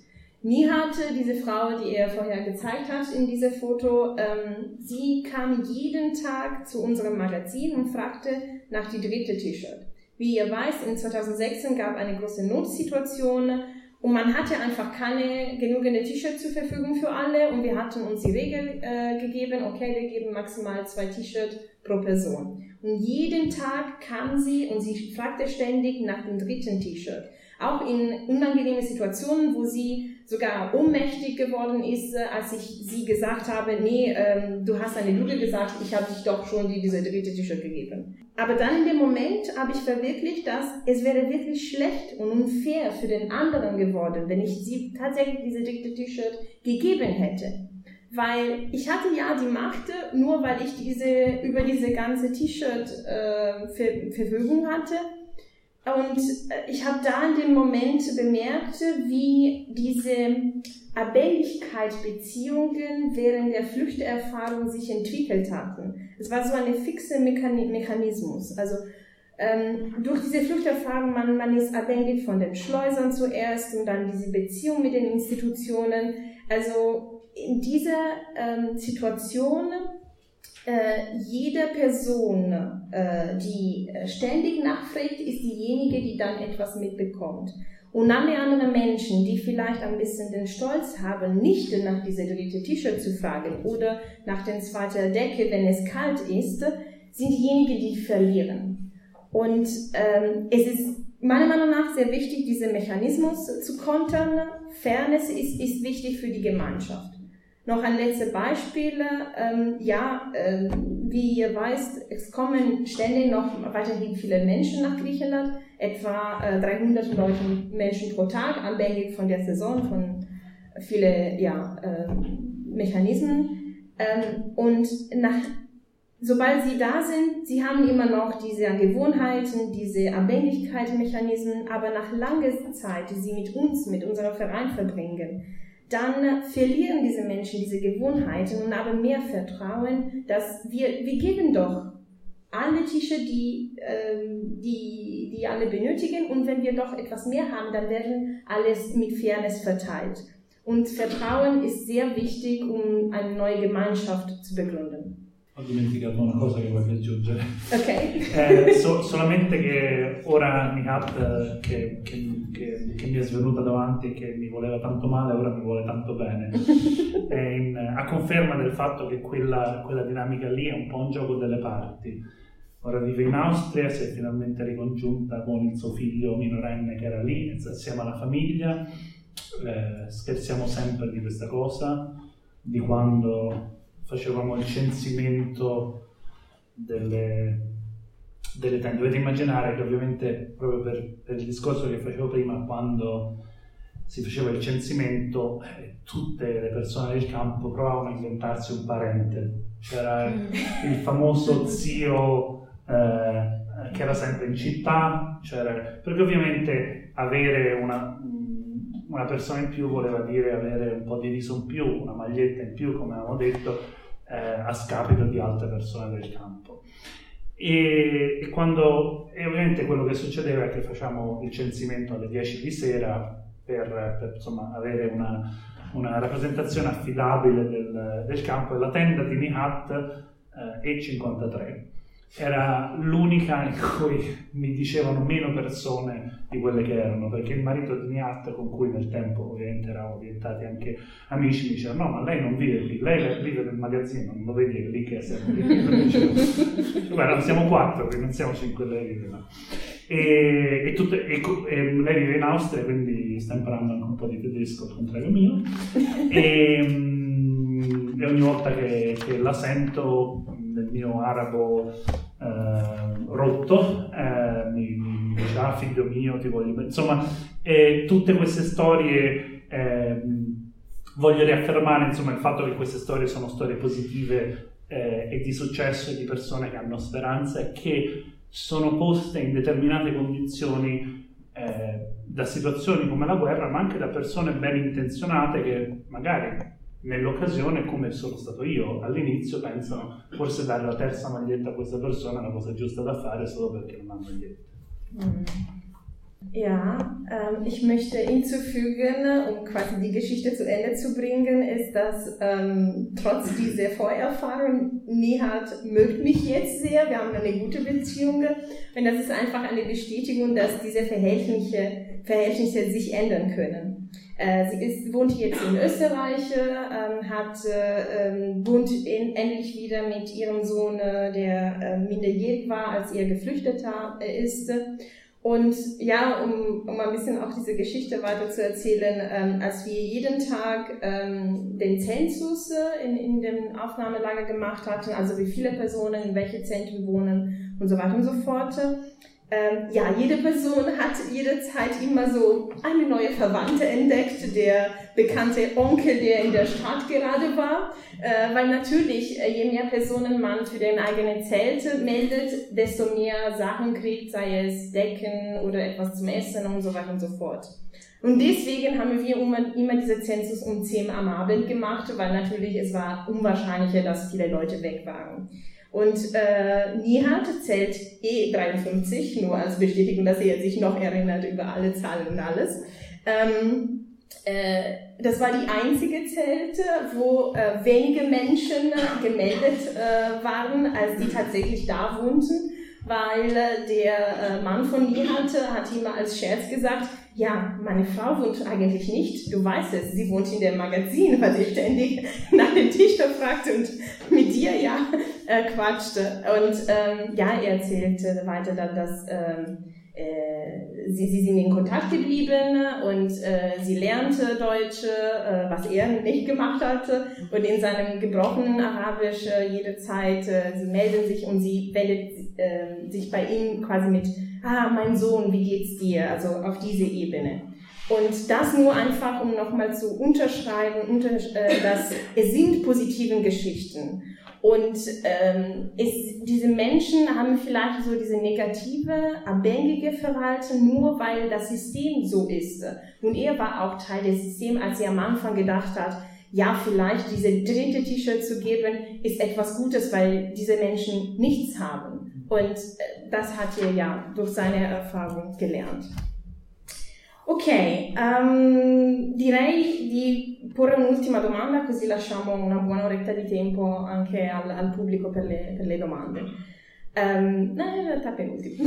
Nihat, diese Frau, die er vorher gezeigt hat in diesem Foto, sie kam jeden Tag zu unserem Magazin und fragte nach die dritte T-Shirt. Wie ihr weißt, in 2016 gab eine große Notsituation und man hatte einfach keine genügende T-Shirts zur Verfügung für alle und wir hatten uns die Regel gegeben, okay, wir geben maximal 2 T-Shirts pro Person. Und jeden Tag kam sie und sie fragte ständig nach dem dritten T-Shirt. Auch in unangenehmen Situationen, wo sie sogar ohnmächtig geworden ist, als ich sie gesagt habe, nee, du hast eine Lüge gesagt, ich habe dich doch schon diese dritte T-Shirt gegeben. Aber dann in dem Moment habe ich verwirklicht, dass es wäre wirklich schlecht und unfair für den anderen geworden, wenn ich sie tatsächlich diese dritte T-Shirt gegeben hätte. Weil ich hatte ja die Macht, nur weil ich über diese ganze T-Shirt Verfügung hatte. Und ich habe da in dem Moment bemerkt, wie diese Abhängigkeitsbeziehungen während der Flüchterfahrung sich entwickelt hatten. Es war so ein fixer Mechanismus. Also durch diese Flüchterfahrung, man ist abhängig von den Schleusern zuerst und dann diese Beziehung mit den Institutionen. Also in dieser Situation jede Person, die ständig nachfragt, ist diejenige, die dann etwas mitbekommt. Und alle anderen Menschen, die vielleicht ein bisschen den Stolz haben, nicht nach dieser dritte T-Shirt zu fragen oder nach der zweiten Decke, wenn es kalt ist, sind diejenigen, die verlieren. Und es ist meiner Meinung nach sehr wichtig, diesen Mechanismus zu kontern. Fairness ist wichtig für die Gemeinschaft. Noch ein letztes Beispiel. Wie ihr weißt, es kommen ständig noch weiterhin viele Menschen nach Griechenland, etwa 300 Menschen pro Tag, abhängig von der Saison, von vielen Mechanismen. Sobald sie da sind, sie haben immer noch diese Gewohnheiten, diese Abhängigkeitsmechanismen, aber nach langer Zeit, die sie mit uns, mit unserem Verein verbringen, dann verlieren diese Menschen diese Gewohnheiten und haben mehr Vertrauen, dass wir geben doch alle Tische, die alle benötigen, und wenn wir doch etwas mehr haben, dann werden alles mit Fairness verteilt. Und Vertrauen ist sehr wichtig, um eine neue Gemeinschaft zu begründen. Ho dimenticato una cosa che voglio aggiungere. Ok. Solamente che ora Nihat, che mi è svenuta davanti e che mi voleva tanto male, ora mi vuole tanto bene. A conferma del fatto che quella dinamica lì è un po' un gioco delle parti. Ora vive in Austria, si è finalmente ricongiunta con il suo figlio minorenne che era lì, assieme alla famiglia. Scherziamo sempre di questa cosa, di quando facevamo il censimento delle tende. Dovete immaginare che ovviamente proprio per il discorso che facevo prima, quando si faceva il censimento, tutte le persone del campo provavano a inventarsi un parente. C'era il famoso zio che era sempre in città, perché ovviamente avere una persona in più voleva dire avere un po' di riso in più, una maglietta in più, come avevamo detto, a scapito di altre persone del campo. E ovviamente quello che succedeva è che facciamo il censimento alle 10 di sera per insomma avere una rappresentazione affidabile del campo, e la tenda di Nihat E53 era l'unica in cui mi dicevano meno persone di quelle che erano, perché il marito di Nihat, con cui nel tempo ovviamente eravamo diventati anche amici, mi diceva: no, ma lei non vive qui, lei vive nel magazzino, non lo vedi, è lì che siamo lì. Guarda, siamo 4, quindi non siamo 5, lei vive là. E lei vive in Austria, quindi sta imparando anche un po' di tedesco, al contrario mio, e ogni volta che la sento nel mio arabo rotto, mi dice: ah, figlio mio, ti voglio bene. Insomma, tutte queste storie, voglio riaffermare insomma il fatto che queste storie sono storie positive e di successo, e di persone che hanno speranza e che sono poste in determinate condizioni da situazioni come la guerra, ma anche da persone ben intenzionate che magari nell'occasione, come sono stato io all'inizio, pensano forse dare la terza maglietta a questa persona è la cosa giusta da fare solo perché non ha maglietta. Ja, ich möchte hinzufügen, um quasi die Geschichte zu Ende zu bringen, ist, dass trotz dieser Vorerfahrung, Nihat mögt mich jetzt sehr, wir haben eine gute Beziehung und das ist einfach eine Bestätigung, dass diese Verhältnisse sich ändern können. Sie wohnt jetzt in Österreich, wohnt endlich wieder mit ihrem Sohn, der minderjährig war, als er geflüchtet ist. Und ja, um ein bisschen auch diese Geschichte weiter zu erzählen, als wir jeden Tag den Zensus in dem Aufnahmelager gemacht hatten, also wie viele Personen in welche Zentren wohnen und so weiter und so fort, jede Person hat jederzeit immer so eine neue Verwandte entdeckt, der bekannte Onkel, der in der Stadt gerade war, weil natürlich, je mehr Personen man für den eigenen Zelt meldet, desto mehr Sachen kriegt, sei es Decken oder etwas zum Essen und so weiter und so fort. Und deswegen haben wir immer diese Zensus um 10 am Abend gemacht, weil natürlich es war unwahrscheinlicher, dass viele Leute weg waren. Und Nihat zählt 53, nur als Bestätigung, dass er sich noch erinnert über alle Zahlen und alles. Das war die einzige Zelte, wo wenige Menschen gemeldet waren, als die tatsächlich da wohnten, weil der Mann von Nihat hat immer als Scherz gesagt, ja, meine Frau wohnt eigentlich nicht, du weißt es, sie wohnt in dem Magazin, weil sie ständig nach dem Dichter fragte und mit dir quatschte. Und er erzählte weiter dann, dass sie sind in Kontakt geblieben und sie lernte Deutsch, was er nicht gemacht hatte. Und in seinem gebrochenen Arabisch jederzeit, sie melden sich und sie wendet sich bei ihm quasi mit, mein Sohn, wie geht's dir? Also auf diese Ebene. Und das nur einfach, um nochmal zu unterschreiben, dass es sind positive Geschichten. Und diese Menschen haben vielleicht so diese negative, abhängige Verhalten, nur weil das System so ist. Und er war auch Teil des Systems, als er am Anfang gedacht hat, ja, vielleicht diese dritte T-Shirt zu geben, ist etwas Gutes, weil diese Menschen nichts haben. Und das hat er ja durch seine Erfahrung gelernt. Ok, direi di porre un'ultima domanda, così lasciamo una buona oretta di tempo anche al pubblico per le domande. No, in realtà penultima.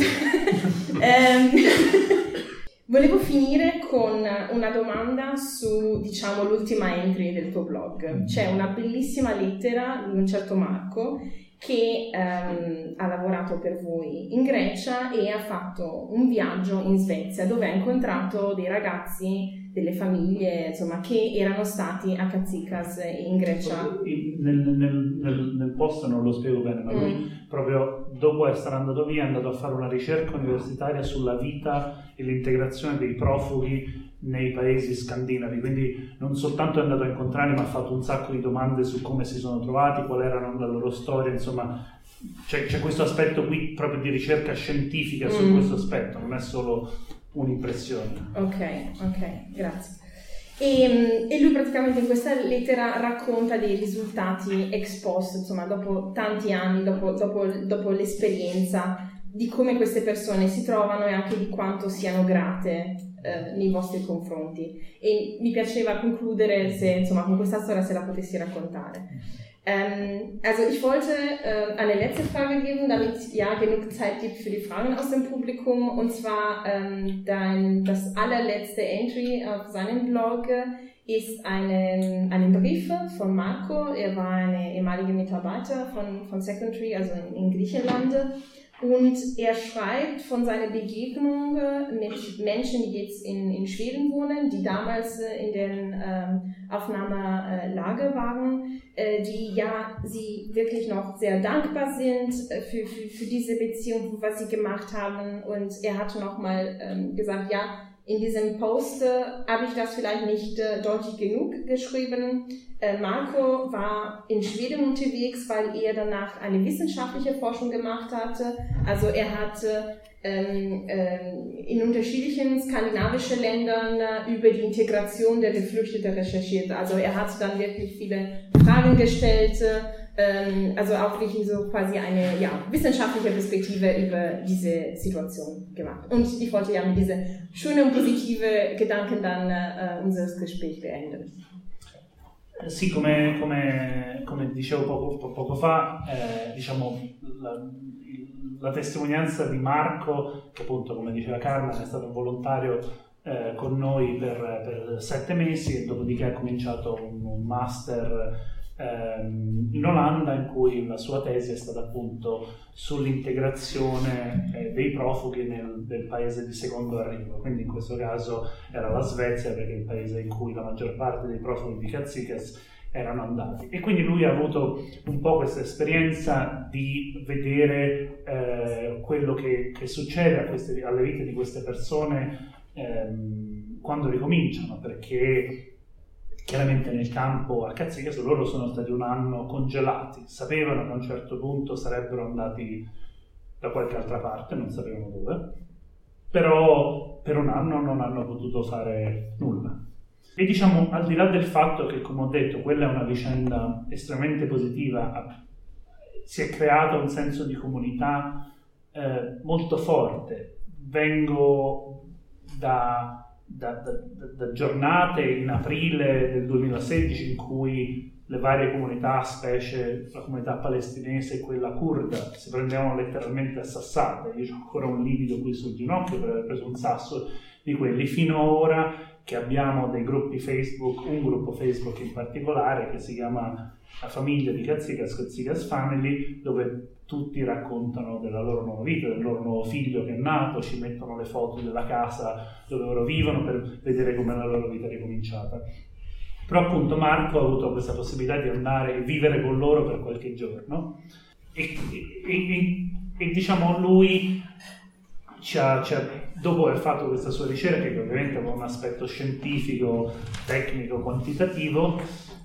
Volevo finire con una domanda su, diciamo, l'ultima entry del tuo blog. C'è una bellissima lettera di un certo Marco che ha lavorato per voi in Grecia e ha fatto un viaggio in Svezia dove ha incontrato dei ragazzi, delle famiglie, insomma, che erano stati a Katsikas in Grecia. Nel post non lo spiego bene, ma lui proprio dopo essere andato via è andato a fare una ricerca universitaria sulla vita e l'integrazione dei profughi nei paesi scandinavi, quindi non soltanto è andato a incontrarli, ma ha fatto un sacco di domande su come si sono trovati, qual era la loro storia, insomma c'è questo aspetto qui proprio di ricerca scientifica su questo aspetto, non è solo un'impressione. Ok, grazie. E lui praticamente in questa lettera racconta dei risultati ex post, insomma dopo tanti anni, dopo l'esperienza, di come queste persone si trovano e anche di quanto siano grate nei vostri confronti. E mi piaceva concludere con questa storia, se la potessi raccontare. Also ich wollte eine letzte Frage geben, damit genug Zeit gibt für die Fragen aus dem Publikum. Und zwar das allerletzte Entry auf seinem Blog ist einen Brief von Marco. Er war eine ehemalige Mitarbeiter von Secondary, also in Griechenland. Und er schreibt von seiner Begegnung mit Menschen, die jetzt in Schweden wohnen, die damals in den Aufnahmelager waren, die sie wirklich noch sehr dankbar sind für diese Beziehung, was sie gemacht haben. Und er hat nochmal gesagt, in diesem Post habe ich das vielleicht nicht deutlich genug geschrieben. Marco war in Schweden unterwegs, weil er danach eine wissenschaftliche Forschung gemacht hatte. Also er hat in unterschiedlichen skandinavischen Ländern über die Integration der Geflüchteten recherchiert. Also er hat dann wirklich viele Fragen gestellt, also auch wirklich so quasi eine wissenschaftliche Perspektive über diese Situation gemacht. Und ich wollte ja mit diesen schönen und positiven Gedanken dann unser Gespräch beenden. Sì, come dicevo poco fa, diciamo la testimonianza di Marco, che appunto, come diceva Carmen, è stato volontario con noi per 7 mesi e dopodiché ha cominciato un master in Olanda, in cui la sua tesi è stata appunto sull'integrazione dei profughi del paese di secondo arrivo. Quindi in questo caso era la Svezia, perché è il paese in cui la maggior parte dei profughi di Katsikas erano andati. E quindi lui ha avuto un po' questa esperienza di vedere quello che succede alle vite di queste persone quando ricominciano, perché chiaramente nel campo a Katsikas loro sono stati un anno congelati, sapevano che a un certo punto sarebbero andati da qualche altra parte, non sapevano dove, però per un anno non hanno potuto fare nulla. E diciamo, al di là del fatto che, come ho detto, quella è una vicenda estremamente positiva, si è creato un senso di comunità molto forte. Vengo da giornate in aprile del 2016 in cui le varie comunità, specie la comunità palestinese e quella curda, si prendevano letteralmente a sassate. Io ho ancora un livido qui sul ginocchio per aver preso un sasso di quelli, fino a ora che abbiamo dei gruppi Facebook, un gruppo Facebook in particolare che si chiama La famiglia di Katsikas, Katsikas Family, dove tutti raccontano della loro nuova vita, del loro nuovo figlio che è nato, ci mettono le foto della casa dove loro vivono per vedere come la loro vita è ricominciata. Però appunto Marco ha avuto questa possibilità di andare e vivere con loro per qualche giorno e diciamo lui dopo aver fatto questa sua ricerca, che ovviamente aveva un aspetto scientifico, tecnico, quantitativo,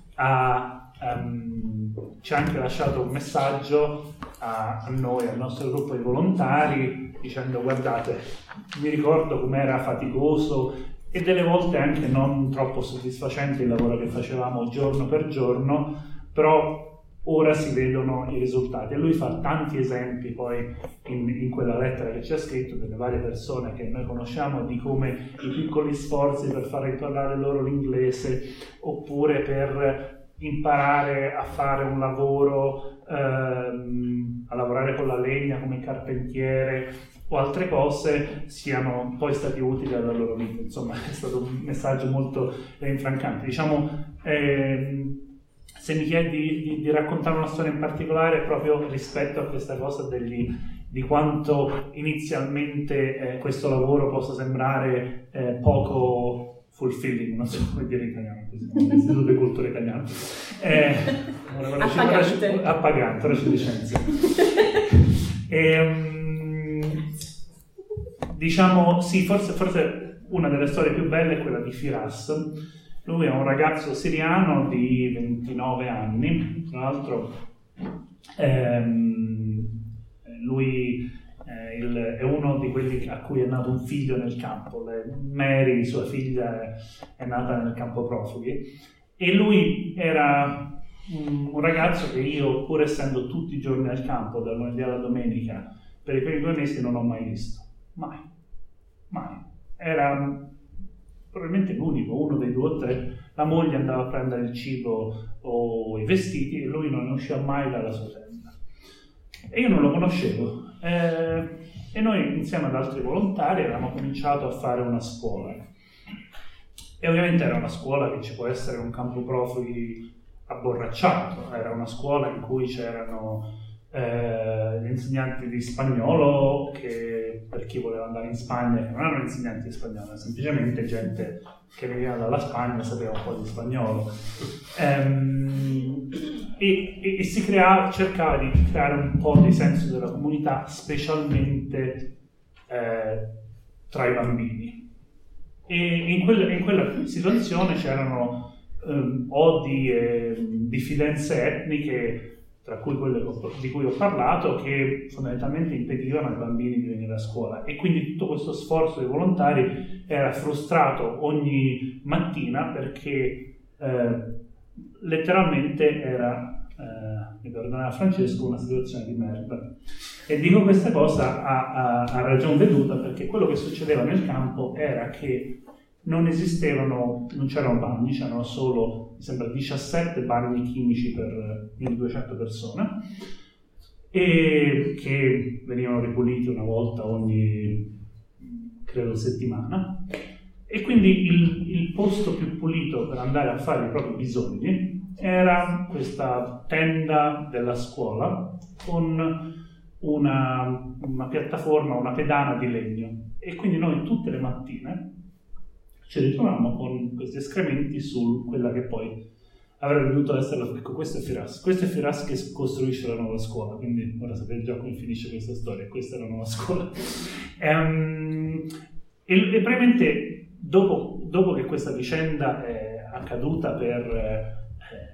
ci ha anche lasciato un messaggio a noi, al nostro gruppo di volontari, dicendo: guardate, mi ricordo com'era faticoso e delle volte anche non troppo soddisfacente il lavoro che facevamo giorno per giorno, però ora si vedono i risultati. E lui fa tanti esempi poi in quella lettera che ci ha scritto delle varie persone che noi conosciamo, di come i piccoli sforzi per far imparare loro l'inglese, oppure per imparare a fare un lavoro, a lavorare con la legna come carpentiere o altre cose, siano poi stati utili alla loro vita. Insomma, è stato un messaggio molto rinfrancante. Diciamo, se mi chiedi di raccontare una storia in particolare, proprio rispetto a questa cosa di quanto inizialmente questo lavoro possa sembrare poco fulfilling, non so come dire in italiano, l'Istituto di Cultura Italiano. Appagante, recidicenza. Diciamo, sì, forse una delle storie più belle è quella di Firas. Lui è un ragazzo siriano di 29 anni, tra l'altro lui è uno di quelli a cui è nato un figlio nel campo. Mary, sua figlia, è nata nel campo profughi, e lui era un ragazzo che io, pur essendo tutti i giorni al campo, dal lunedì alla domenica, per i primi 2 mesi non ho mai visto. Mai. Era probabilmente l'unico, uno dei 2 o 3. La moglie andava a prendere il cibo o i vestiti e lui non ne usciva mai dalla sua tenda. E io non lo conoscevo. E noi, insieme ad altri volontari, avevamo cominciato a fare una scuola. E ovviamente era una scuola che ci può essere un campo profughi abborracciato. Era una scuola in cui c'erano gli insegnanti di spagnolo, che per chi voleva andare in Spagna, che non erano insegnanti di spagnolo, semplicemente gente che veniva dalla Spagna e sapeva un po' di spagnolo, e cercava di creare un po' di senso della comunità, specialmente tra i bambini. E in quella situazione c'erano odi e diffidenze etniche tra cui quelle di cui ho parlato, che fondamentalmente impedivano ai bambini di venire a scuola. E quindi tutto questo sforzo dei volontari era frustrato ogni mattina perché letteralmente era, mi perdonava Francesco, una situazione di merda. E dico questa cosa a ragion veduta perché quello che succedeva nel campo era che non c'erano bagni, c'erano solo, mi sembra, 17 bagni chimici per 1200 persone, e che venivano ripuliti una volta ogni, credo, settimana. E quindi il posto più pulito per andare a fare i propri bisogni era questa tenda della scuola con una piattaforma, una pedana di legno. E quindi noi tutte le mattine ci ritrovavamo con questi escrementi su quella che poi avrebbe dovuto essere, ecco, questo è Firas che costruisce la nuova scuola, quindi ora sapete già come finisce questa storia, questa è la nuova scuola. E praticamente dopo che questa vicenda è accaduta per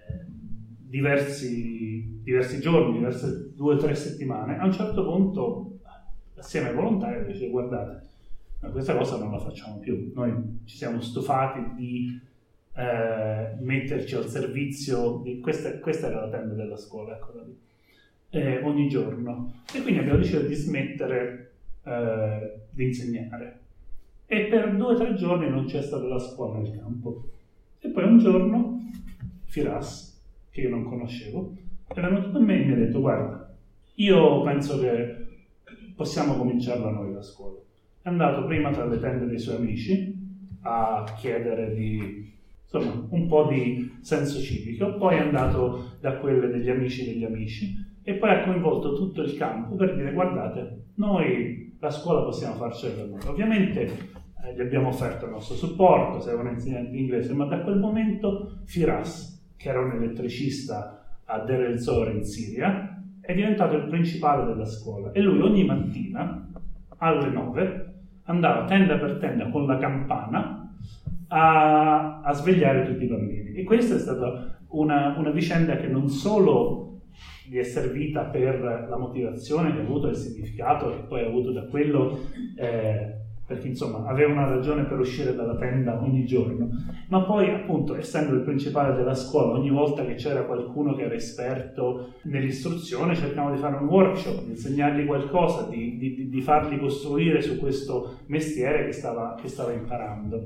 diversi giorni, diverse 2 o 3 settimane, a un certo punto assieme ai volontari dice: guardate, ma questa cosa non la facciamo più, noi ci siamo stufati di metterci al servizio di questa era la tenda della scuola, eccola lì, ogni giorno, e quindi abbiamo deciso di smettere di insegnare, e per 2 o 3 giorni non c'è stata la scuola nel campo. E poi un giorno Firas, che io non conoscevo, è venuto da me e mi ha detto: guarda, io penso che possiamo cominciarla noi la scuola. È andato prima tra le tende dei suoi amici a chiedere insomma, un po' di senso civico, poi è andato da quelle degli amici e poi ha coinvolto tutto il campo per dire: guardate, noi la scuola possiamo farcela per noi. Ovviamente gli abbiamo offerto il nostro supporto, sei un insegnante di inglese, ma da quel momento Firas, che era un elettricista a Deir el-Zor in Siria, è diventato il principale della scuola, e lui ogni mattina alle 9 andava tenda per tenda con la campana a svegliare tutti i bambini. E questa è stata una vicenda che non solo gli è servita per la motivazione che ha avuto, il significato che poi ha avuto da quello, perché insomma aveva una ragione per uscire dalla tenda ogni giorno, ma poi appunto, essendo il principale della scuola, ogni volta che c'era qualcuno che era esperto nell'istruzione cercavamo di fare un workshop, di insegnargli qualcosa, di farli costruire su questo mestiere che stava imparando.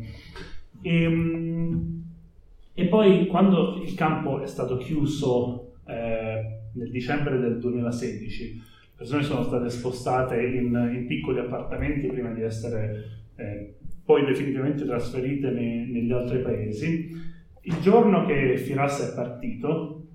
E poi quando il campo è stato chiuso nel dicembre del 2016, le persone sono state spostate in piccoli appartamenti prima di essere poi definitivamente trasferite negli altri paesi. Il giorno che Firas è partito,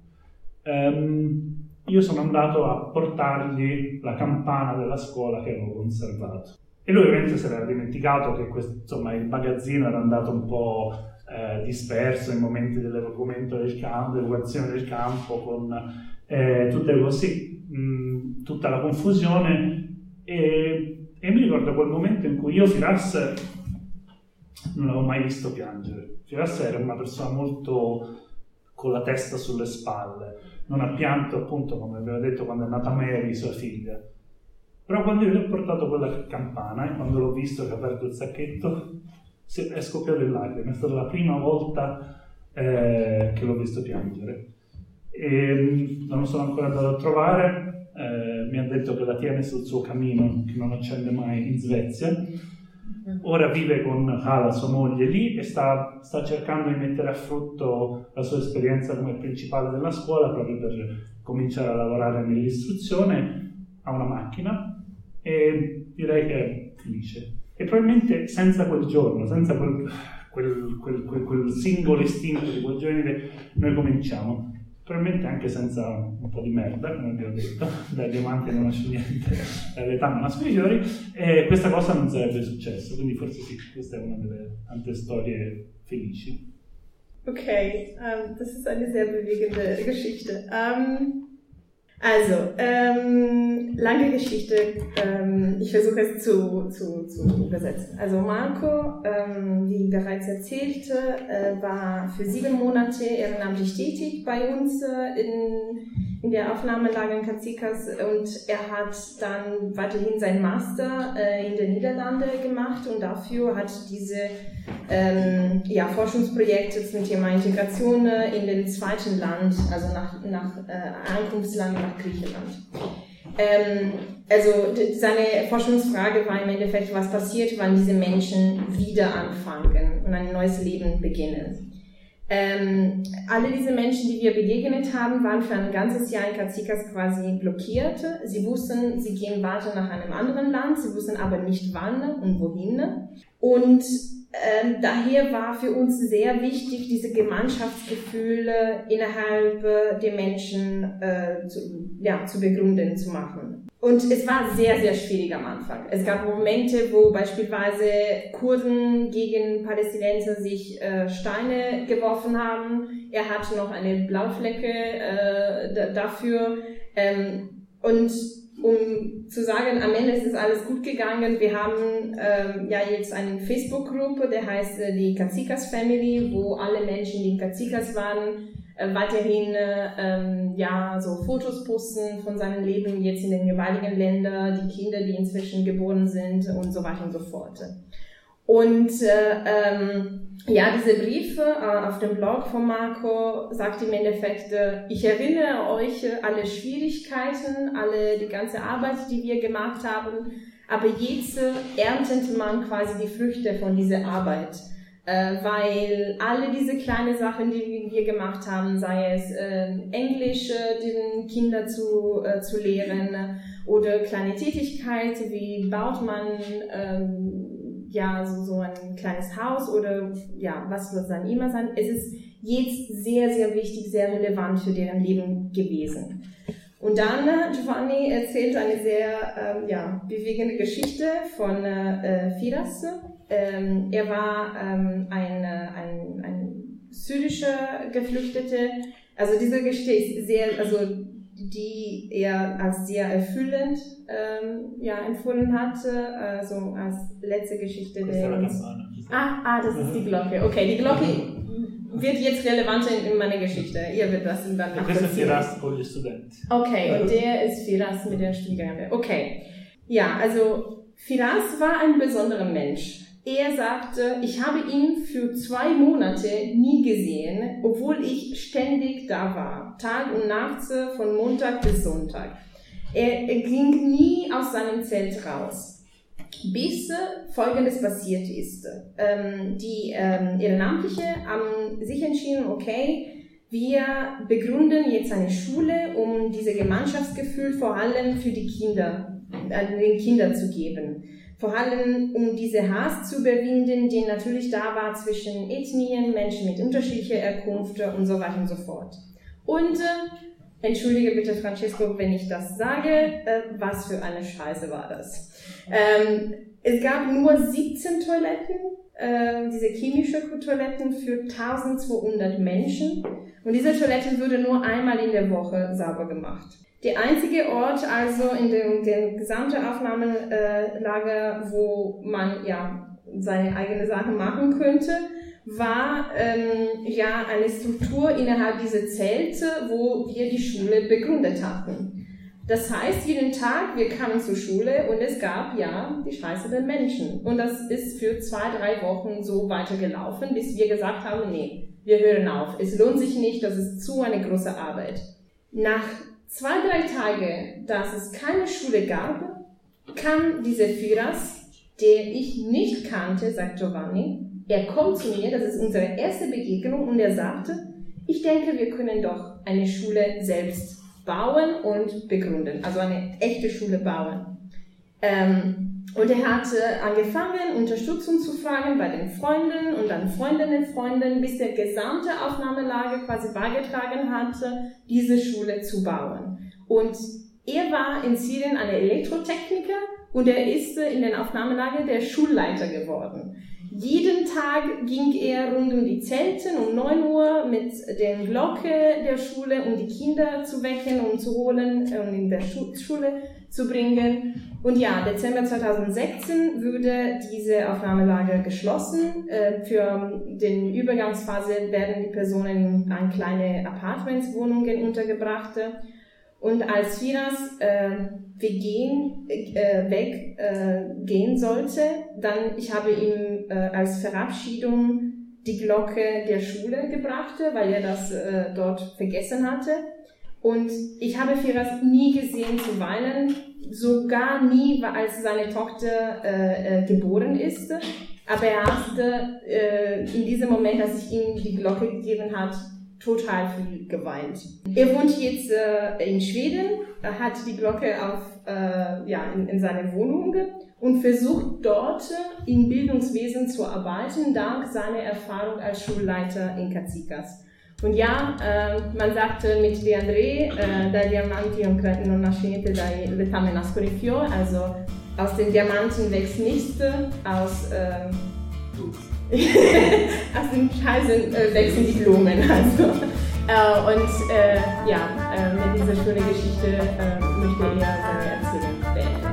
io sono andato a portargli la campana della scuola che avevo conservato. E lui ovviamente si era dimenticato che insomma, il magazzino era andato un po' disperso in momenti dell'evacuazione del campo, con tutte così, tutta la confusione, e mi ricordo quel momento in cui io Firas non l'avevo mai visto piangere. Firas era una persona molto con la testa sulle spalle, non ha pianto appunto come aveva detto quando è nata Mary, sua figlia. Però quando io gli ho portato quella campana e quando l'ho visto che ha aperto il sacchetto è scoppiato in lacrime. È stata la prima volta che l'ho visto piangere. E non sono ancora andato a trovare, mi ha detto che la tiene sul suo camino, che non accende mai, in Svezia. Ora vive con Hala, sua moglie, lì, e sta cercando di mettere a frutto la sua esperienza come principale della scuola proprio per cominciare a lavorare nell'istruzione. Ha una macchina e direi che è felice. E probabilmente senza quel giorno, senza quel singolo istinto di quel giorno, noi cominciamo. Probabilmente anche senza un po' di merda, come vi ho detto, dai diamanti non nasce niente, dall'età non nascono i fiori, e questa cosa non sarebbe successa, quindi forse sì, questa è una delle tante storie felici. Okay, das ist eine sehr bewegende Geschichte. Lange Geschichte, ich versuche es zu übersetzen. Also Marco, wie bereits erzählte, war für 7 Monate ehrenamtlich tätig bei uns in der Aufnahmelage in Cacicas und er hat dann weiterhin seinen Master in den Niederlanden gemacht und dafür hat diese Forschungsprojekte zum Thema Integration in dem zweiten Land, also nach Ankunftsland nach Griechenland. Also seine Forschungsfrage war im Endeffekt, was passiert, wenn diese Menschen wieder anfangen und ein neues Leben beginnen. Alle diese Menschen, die wir begegnet haben, waren für ein ganzes Jahr in Cacicas quasi blockiert. Sie wussten, sie gehen weiter nach einem anderen Land, sie wussten aber nicht wann und wohin. Und daher war für uns sehr wichtig, diese Gemeinschaftsgefühle innerhalb der Menschen zu begründen, zu machen. Und es war sehr, sehr schwierig am Anfang. Es gab Momente, wo beispielsweise Kurden gegen Palästinenser sich Steine geworfen haben. Er hatte noch eine Blauflecke dafür. Und um zu sagen, am Ende ist es alles gut gegangen. Wir haben jetzt eine Facebook-Gruppe, der heißt die Cacicas Family, wo alle Menschen, die in Cacicas waren, weiterhin so Fotos posten von seinem Leben jetzt in den jeweiligen Ländern, die Kinder, die inzwischen geboren sind und so weiter und so fort. Und diese Briefe auf dem Blog von Marco sagt im Endeffekt, ich erinnere euch alle Schwierigkeiten, die ganze Arbeit, die wir gemacht haben, aber jetzt erntet man quasi die Früchte von dieser Arbeit. Weil alle diese kleinen Sachen, die wir gemacht haben, sei es Englisch den Kindern zu lehren oder kleine Tätigkeiten, wie baut man so ein kleines Haus oder was wird es dann immer sein. Es ist jetzt sehr, sehr wichtig, sehr relevant für deren Leben gewesen. Und dann Giovanni erzählt eine sehr bewegende Geschichte von Firas. Er war ein syrischer Geflüchteter. Also diese Geschichte ist die er als sehr erfüllend empfunden hatte, also als letzte Geschichte der. Das ist die Glocke. Okay, die Glocke wird jetzt relevant in meiner Geschichte. Ihr wird das dann nachvollziehen. Questo è Firas con gli studenti. Okay, und der ist Firas mit den Studierenden. Okay. Ja, also Firas war ein besonderer Mensch. Er sagte, ich habe ihn für 2 Monate nie gesehen, obwohl ich ständig da war, Tag und Nacht, von Montag bis Sonntag. Er ging nie aus seinem Zelt raus, bis Folgendes passiert ist. Die Ehrenamtliche haben sich entschieden, okay, wir begründen jetzt eine Schule, um dieses Gemeinschaftsgefühl vor allem für die Kinder, den Kindern zu geben. Vor allem, um diese Hass zu überwinden, die natürlich da war zwischen Ethnien, Menschen mit unterschiedlicher Herkunft und so weiter und so fort. Und, entschuldige bitte Francesco, wenn ich das sage, was für eine Scheiße war das. Es gab nur 17 Toiletten, diese chemische Toiletten für 1200 Menschen. Und diese Toiletten wurde nur einmal in der Woche sauber gemacht. Der einzige Ort, also in der gesamten Aufnahmelager, wo man seine eigene Sachen machen könnte, war eine Struktur innerhalb dieser Zelte, wo wir die Schule begründet hatten. Das heißt, jeden Tag, wir kamen zur Schule und es gab die Scheiße der Menschen. Und das ist für 2-3 Wochen so weitergelaufen, bis wir gesagt haben, nee, wir hören auf. Es lohnt sich nicht, das ist zu eine große Arbeit. Nach 2-3 Tage, dass es keine Schule gab, kam dieser Firas, der ich nicht kannte, sagt Giovanni. Er kommt zu mir, das ist unsere erste Begegnung, und er sagte, ich denke, wir können doch eine Schule selbst bauen und begründen, also eine echte Schule bauen. Und er hat angefangen, Unterstützung zu fragen bei den Freunden und dann Freundinnen, bis der gesamte Aufnahmelage quasi beigetragen hatte, diese Schule zu bauen. Und er war in Syrien ein Elektrotechniker und er ist in den Aufnahmelage der Schulleiter geworden. Jeden Tag ging er rund um die Zelte um 9 Uhr mit der Glocke der Schule, um die Kinder zu wecken und zu holen und in der Schule zu bringen. Und Dezember 2016 wurde diese Aufnahmelager geschlossen. Für den Übergangsphase werden die Personen in kleine Apartmentswohnungen untergebracht. Und als Firas weggehen sollte, dann ich habe ihm als Verabschiedung die Glocke der Schule gebracht, weil er das dort vergessen hatte. Und ich habe Firas nie gesehen zu weinen, sogar nie, als seine Tochter geboren ist. Aber er hat in diesem Moment, als ich ihm die Glocke gegeben habe, total viel geweint. Er wohnt jetzt in Schweden, hat die Glocke in seiner Wohnung und versucht dort im Bildungswesen zu arbeiten, dank seiner Erfahrung als Schulleiter in Katsikas. Und ja, man sagt mit De André, dai diamanti non nasce niente, dai letame nascono i fiori, also aus den Diamanten wächst nichts, aus den Scheißen wachsen die Blumen. Also. Mit dieser schönen Geschichte möchte er seine Erzählung beenden.